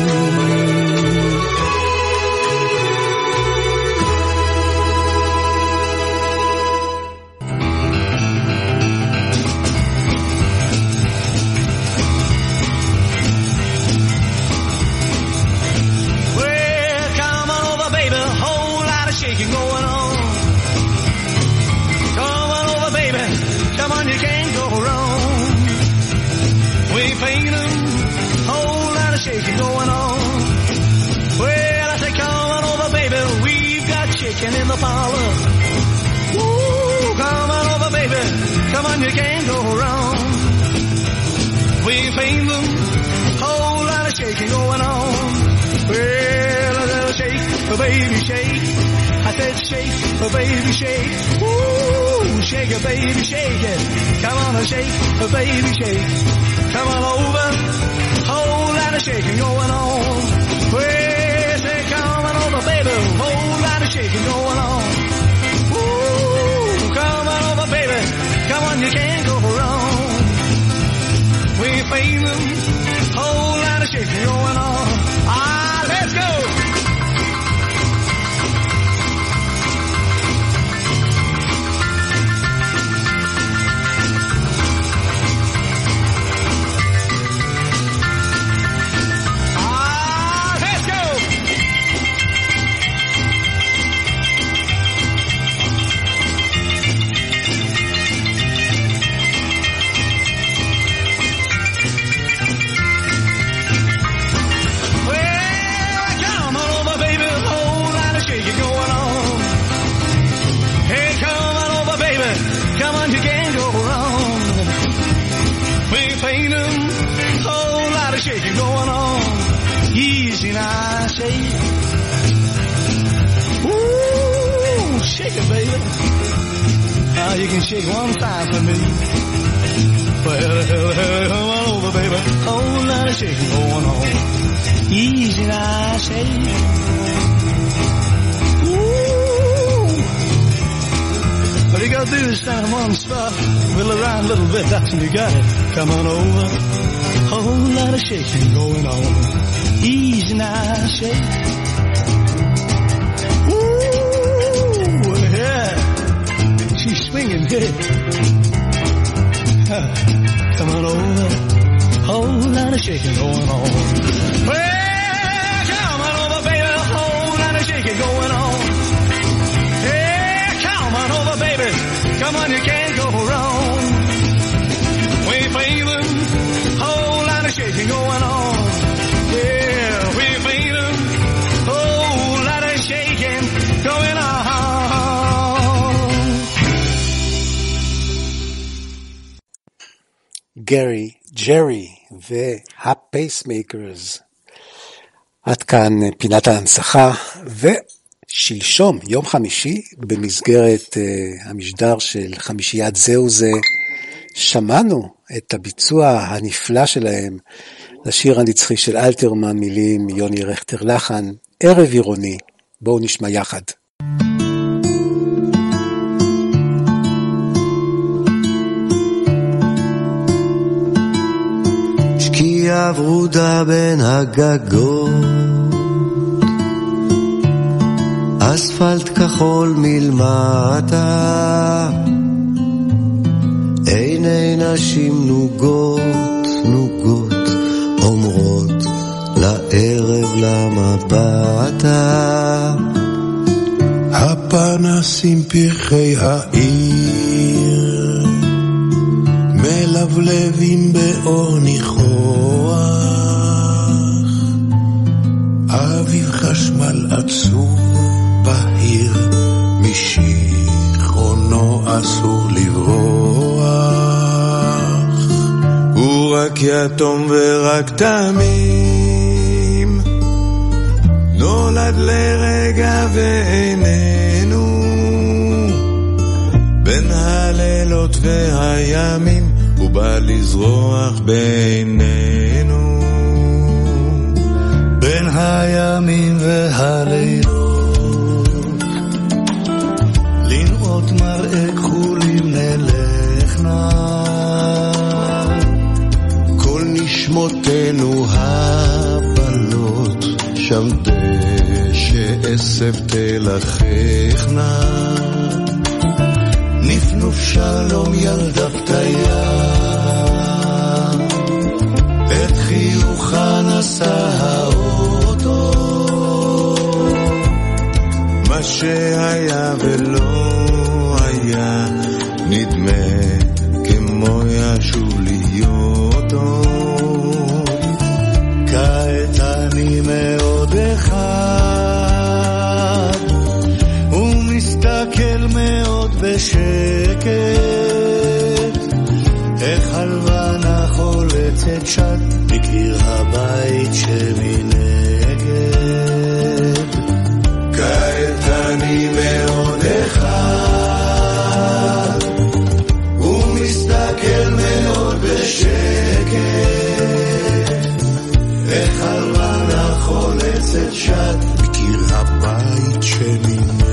Speaker 17: In the parlor, ooh, come on over, baby, come on, you can't go wrong. We paint them, whole lot of shaking going on. Well, a little shake, a baby shake. I said shake, a baby shake. Ooh, shake it, baby, shake it. Come on and shake, a baby shake. Come on over, whole lot of shaking going on. Well, say come on over, baby, whole lot of shaking going on. Ooh, come on over, baby. Come on, you can't go wrong. We pay them, whole lot of shaking going on. Ah, let's go. Shaking going on, easy now, shake. Ooh, shake it, baby. Now you can shake one time for me. Well, come on over, baby. Whole lot of shaking going on, easy now, shake. Ooh. All you gotta do is stand in one spot, wheel around a little bit, that's when you got it. Come on over. Whole lot of shaking going on, easy now, shake. Ooh, yeah, she's swinging here. Huh. Come on over, whole lot of shaking going on. Well, come on over, baby, whole lot of shaking going on. Yeah, come on over, baby, come on, you can't go wrong. We play them. Shaking going on, yeah, we made a whole lot of shaking going on.
Speaker 1: גרי, ג'רי והפייסמייקרס. עד כאן פינת ההנצחה, ושלשום, יום חמישי, במסגרת uh, המשדר של חמישיית זהו זה, שמענו את הביצוע הנפלא שלהם לשיר הנצחי של אלתרמן, מילים יוני רכטר לחן, ערב עירוני. בואו נשמע יחד.
Speaker 18: שקיעה ורודה בין הגגות, אספלט כחול מלמטה, עיני נשים נוגות נוגות אומרות לערב למבטה,
Speaker 19: הפנסים פרחי העיר מלבלבים באור ניחוח, אביב חשמל עצוב בהיר משיכרונו אסור לברוח, יתום ורק תמים, נולד לרגע ואיננו, בין הלילות והימים הוא בא לזרוח בינינו.
Speaker 20: בין הימים והלילות לראות מראה כחולים נלכנה,
Speaker 18: כל נשמותינו הבלות שם דשא עשב תלחכנה, נפנוף שלום ילדה פתיה, את חיוכה נשא האוטו,
Speaker 19: מה שהיה ולא היה נדמה כמו ישוב להיות עוד.
Speaker 20: כעת אני מאוד אחד ומסתכל מאוד בשקט, איך הלבנה חולצת שט בקיר הבית שמנגד.
Speaker 19: כעת אני מאוד אחד ומסתכל מאוד בשקט, איך הלבנה חולצת שט
Speaker 18: בקיר הבית שמנגד.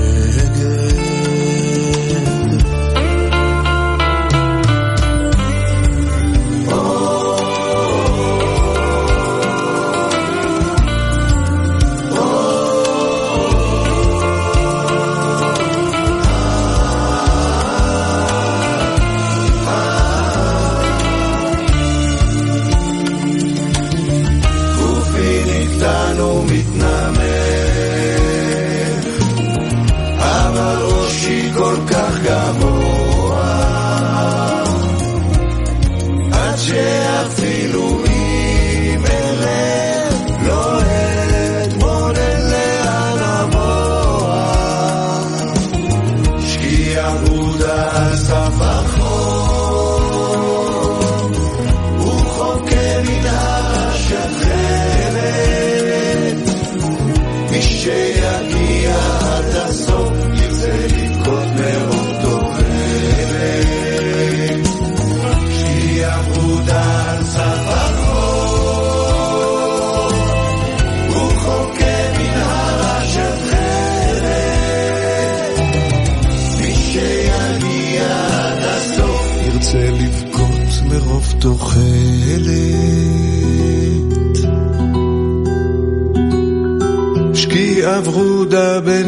Speaker 19: ורודה בין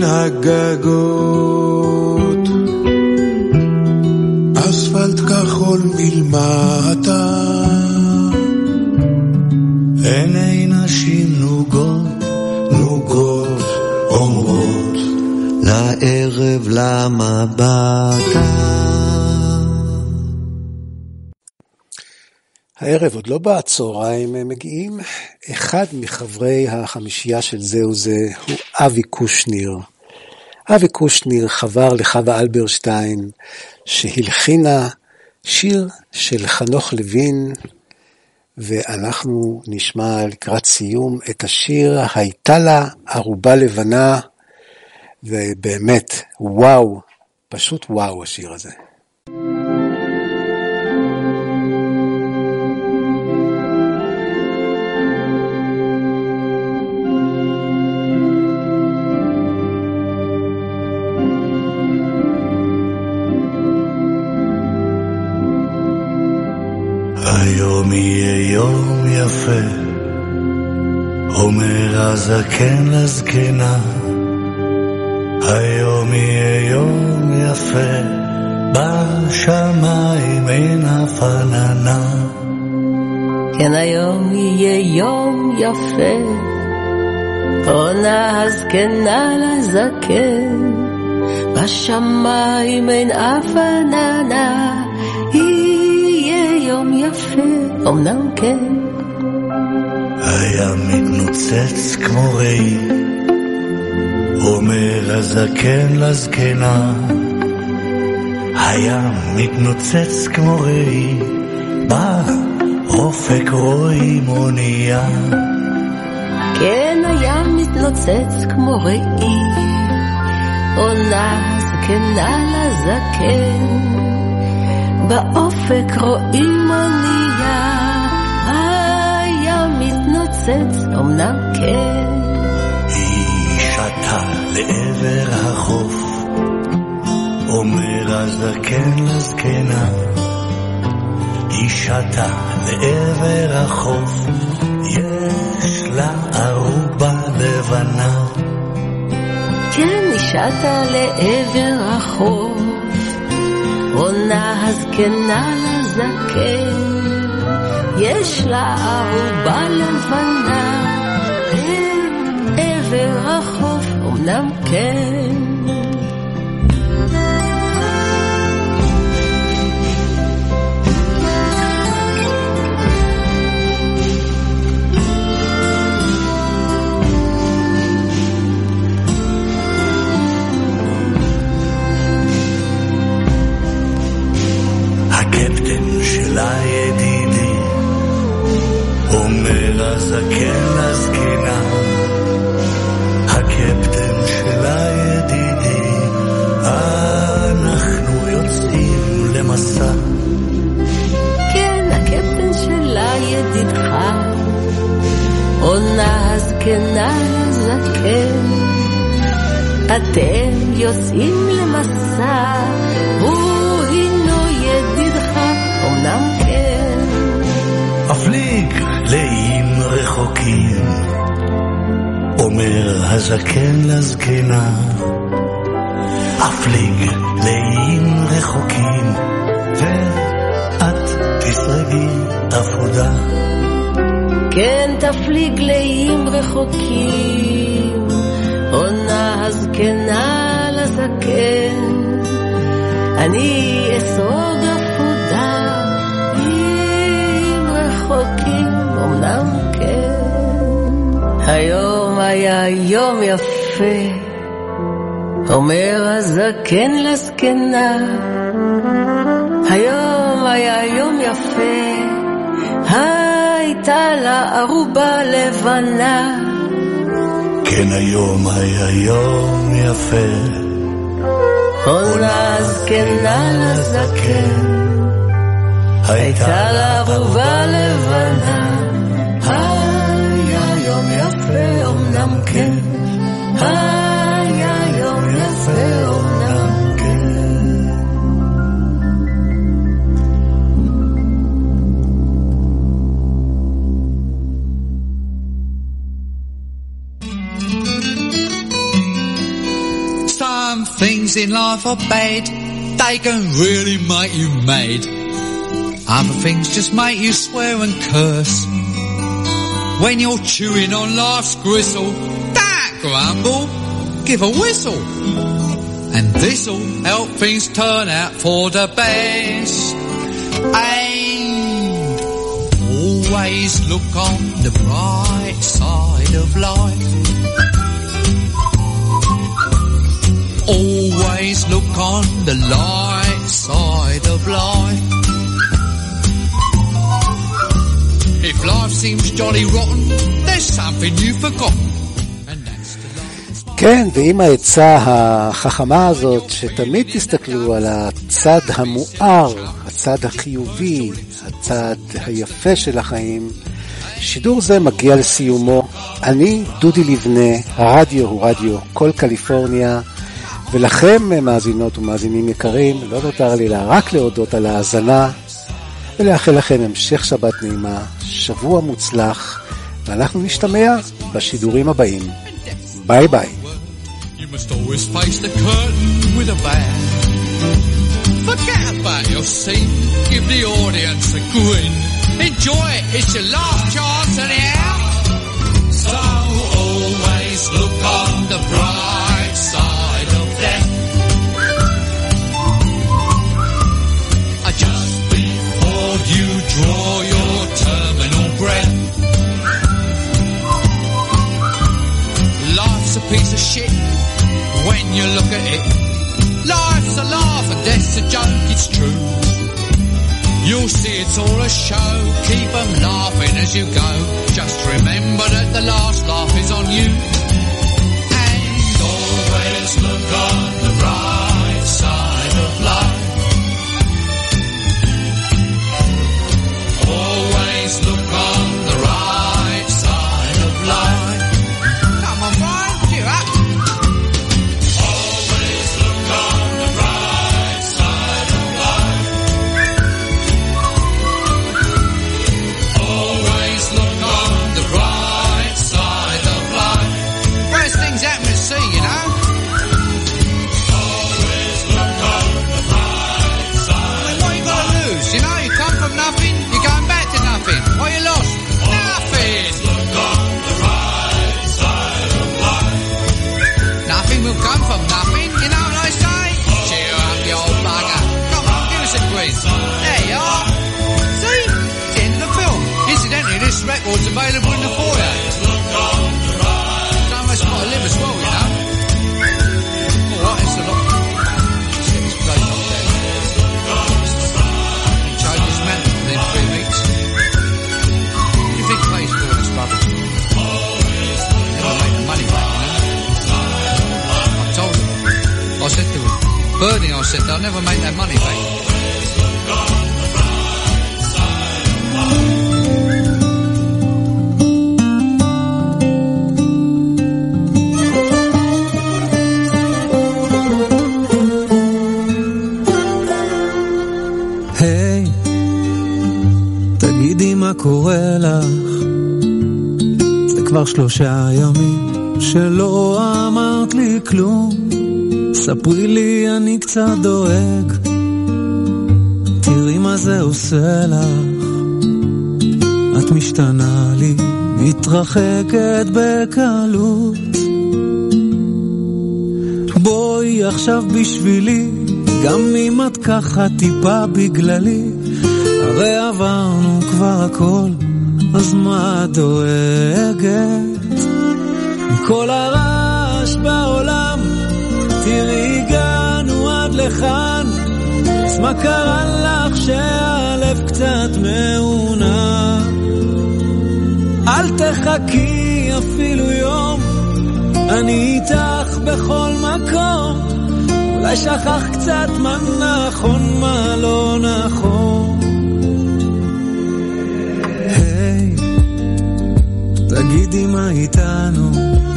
Speaker 19: הגגות,
Speaker 18: אספלט כחול מלמטה,
Speaker 20: עיני נשים נוגות, נוגות אומרות לערב למה באת.
Speaker 1: הערב עוד לא בצהריים הם מגיעים. אחד מחברי החמישייה של זהו זה הוא אבי קושניר. אבי קושניר חבר לחווה אלברשטיין שהלחינה שיר של חנוך לוין, ואנחנו נשמע לקראת סיום את השיר הייתה לה ערובה לבנה, ובאמת וואו, פשוט וואו השיר הזה.
Speaker 20: היום יהיה יום יפה, אומר הזקן לזקנה, היום יהיה יום יפה, בשמיים אין הפננה.
Speaker 3: כן, היום יהיה יום יפה, עונה הזקנה לזקן, בשמיים אין הפננה. יום יפה, אמנם כן.
Speaker 20: היה מתנוצץ כמו ראי, אומר הזקן לזקנה, היה מתנוצץ כמו ראי, באופק רואים אונייה.
Speaker 3: כן, הים מתנוצץ כמו ראי, עונה זקנה לזקן, באופק רואים אונייה, הים מתנוצץ אמנם כן.
Speaker 20: היא שתה לעבר החוף, אומר הזקן לזקנה, היא שתה לעבר החוף, יש לה ערובה לבנה.
Speaker 3: כן, היא שתה לעבר החוף, עונה הזקנה לזקן, יש לה ערובה לבנה. לעבר החוף אמנם כן.
Speaker 20: לידידי, אומר הזקן לזקנה, הקפטן של הידידי, אנחנו יוצאים למסע.
Speaker 3: כן, הקפטן של הידידך, עונה הזקנה לזקן, אתם יוצאים למסע, הוא הינו ידידך אמנם כן.
Speaker 20: אפליג לאיים רחוקים, אומר הזקן לזקנה, אפליג לאיים רחוקים, ואת תשרדי עבודה.
Speaker 3: כן, תפליג לאיים רחוקים, עונה הזקנה לזקן, אני אסרוג עבודה, אם רחוקים אמנם כן. היום היה יום יפה, אומר הזקן לזקנה, היום היה יום יפה, הייתה לה ערובה לבנה.
Speaker 20: כן, היום היה יום יפה,
Speaker 3: עונה הזקנה לזקן, הייתה לה ערובה לבנה. היה יום יפה אמנם כן, היה יום יפה אמנם כן.
Speaker 21: Some things in life are bad, they can really make you mad. Other things just make you swear and curse. When you're chewing on life's gristle, don't grumble, give a whistle. And this'll help things turn out for the best. And always look on the bright side of life. Always look on the light side of life. If life seems jolly rotten, there's something you've forgotten.
Speaker 1: כן, ועם העצה החכמה הזאת, שתמיד תסתכלו על הצד המואר, הצד החיובי, הצד היפה של החיים. שידור זה מגיע לסיומו. אני דודי לבנה, הרדיו הוא רדיו כל קליפורניה, ולכם מאזינות ומאזינים יקרים, לא נותר לי לה רק להודות על ההאזנה, ולאחל לכם המשך שבת נעימה, שבוע מוצלח, ואנחנו נשתמע בשידורים הבאים. ביי ביי.
Speaker 21: You must always face the curtain with a bow. Forget about your scene, give the audience a grin. Enjoy it, it's your last chance anyhow. So always look on the bright side of death. Just before you draw your terminal breath. Life's a piece of shit when you look at it. Life's a laugh and death's a joke, it's true. You'll see it it's all a show. Keep them laughing as you go. Just remember that the last laugh is on you. And always look on the bright side of life. Always look on the right side of life. Come on, Brian, cheer up. Always look on the right side of life. Always look on the right side of life. Worst things happen at sea, you know. Always look on the right side. I mean, what you got to lose? You know, you come from nothing, you're going back to nothing. What you lost? Nothing. Look on the right side of life. Nothing will come from nothing, you know what I say? Cheer up, you old bugger. Come on, give us a quiz. There you are. See? It's the end of the film. Incidentally, this record's available in the foyer. So much got to live as well, you know. Alright, it's a lot. Let's get this place off there. Change this man within three weeks. What do you think pays for all this rubbish? Never make the money back, you know. I told him. I said to him, Bernie, I said, they'll never make that money back.
Speaker 5: היי, תגידי מה קורה לך, זה כבר שלושה ימים שלא אמרת לי כלום, ספרי לי אני קצת דואג, תראי מה זה עושה לך, את משתנה לי, מתרחקת בקלות, בואי עכשיו בשבילי, גם אם את ככה טיפה בגללי, הרי עברנו כבר הכל, אז מה את דואגת? מכל הרעש בעולם, תראי הגענו עד לכאן, אז מה קרה לך שהלב קצת מעונה? אל תחכי אפילו יום, אני איתך בכל מקום, אולי שכח קצת מה נכון, מה לא נכון. היי, תגידי מה איתנו,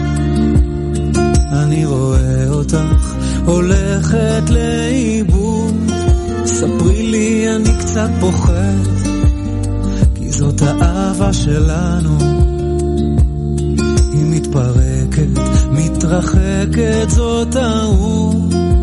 Speaker 5: אני רואה אותך הולכת לאיבוד, ספרי לי אני קצת פוחד, כי זאת האהבה שלנו, היא מתפרקת, מתרחקת, זאת טעות.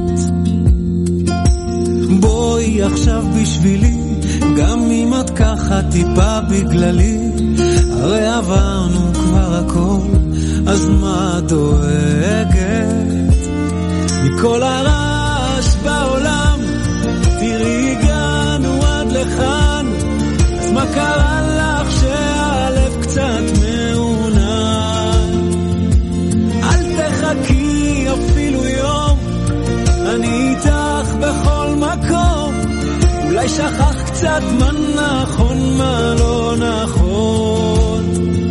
Speaker 5: בואי עכשיו בשבילי, גם אם את ככה טיפה בגללי, הרי עברנו כבר הכל, אז מה דואגת? מכל הרעש בעולם, תראי הגענו עד לכאן, אז מה קרה לך שהלב קצת מעונן? אל תחכי אפילו יום, אני איתך בכל מקום, אולי שכח קצת מה נכון, מה לא נכון.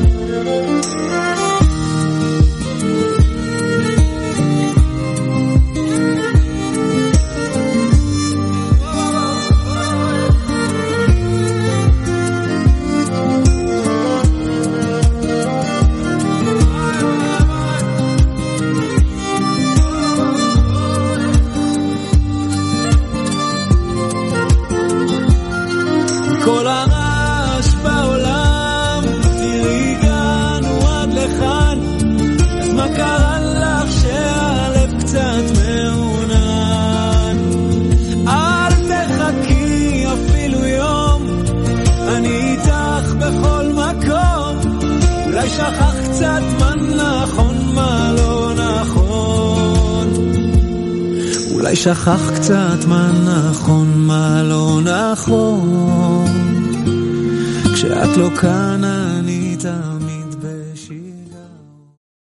Speaker 5: כל הרעש בעולם, תראי הגענו עד לכאן, אז מה קרה לך שהלב קצת מעונן? אל תחכי אפילו יום, אני איתך בכל מקום, אולי שכח קצת מה נכון, מה לא נכון, אולי שכח קצת מה נכון, מה לא נכון, כשאת לא כאן אני איתך.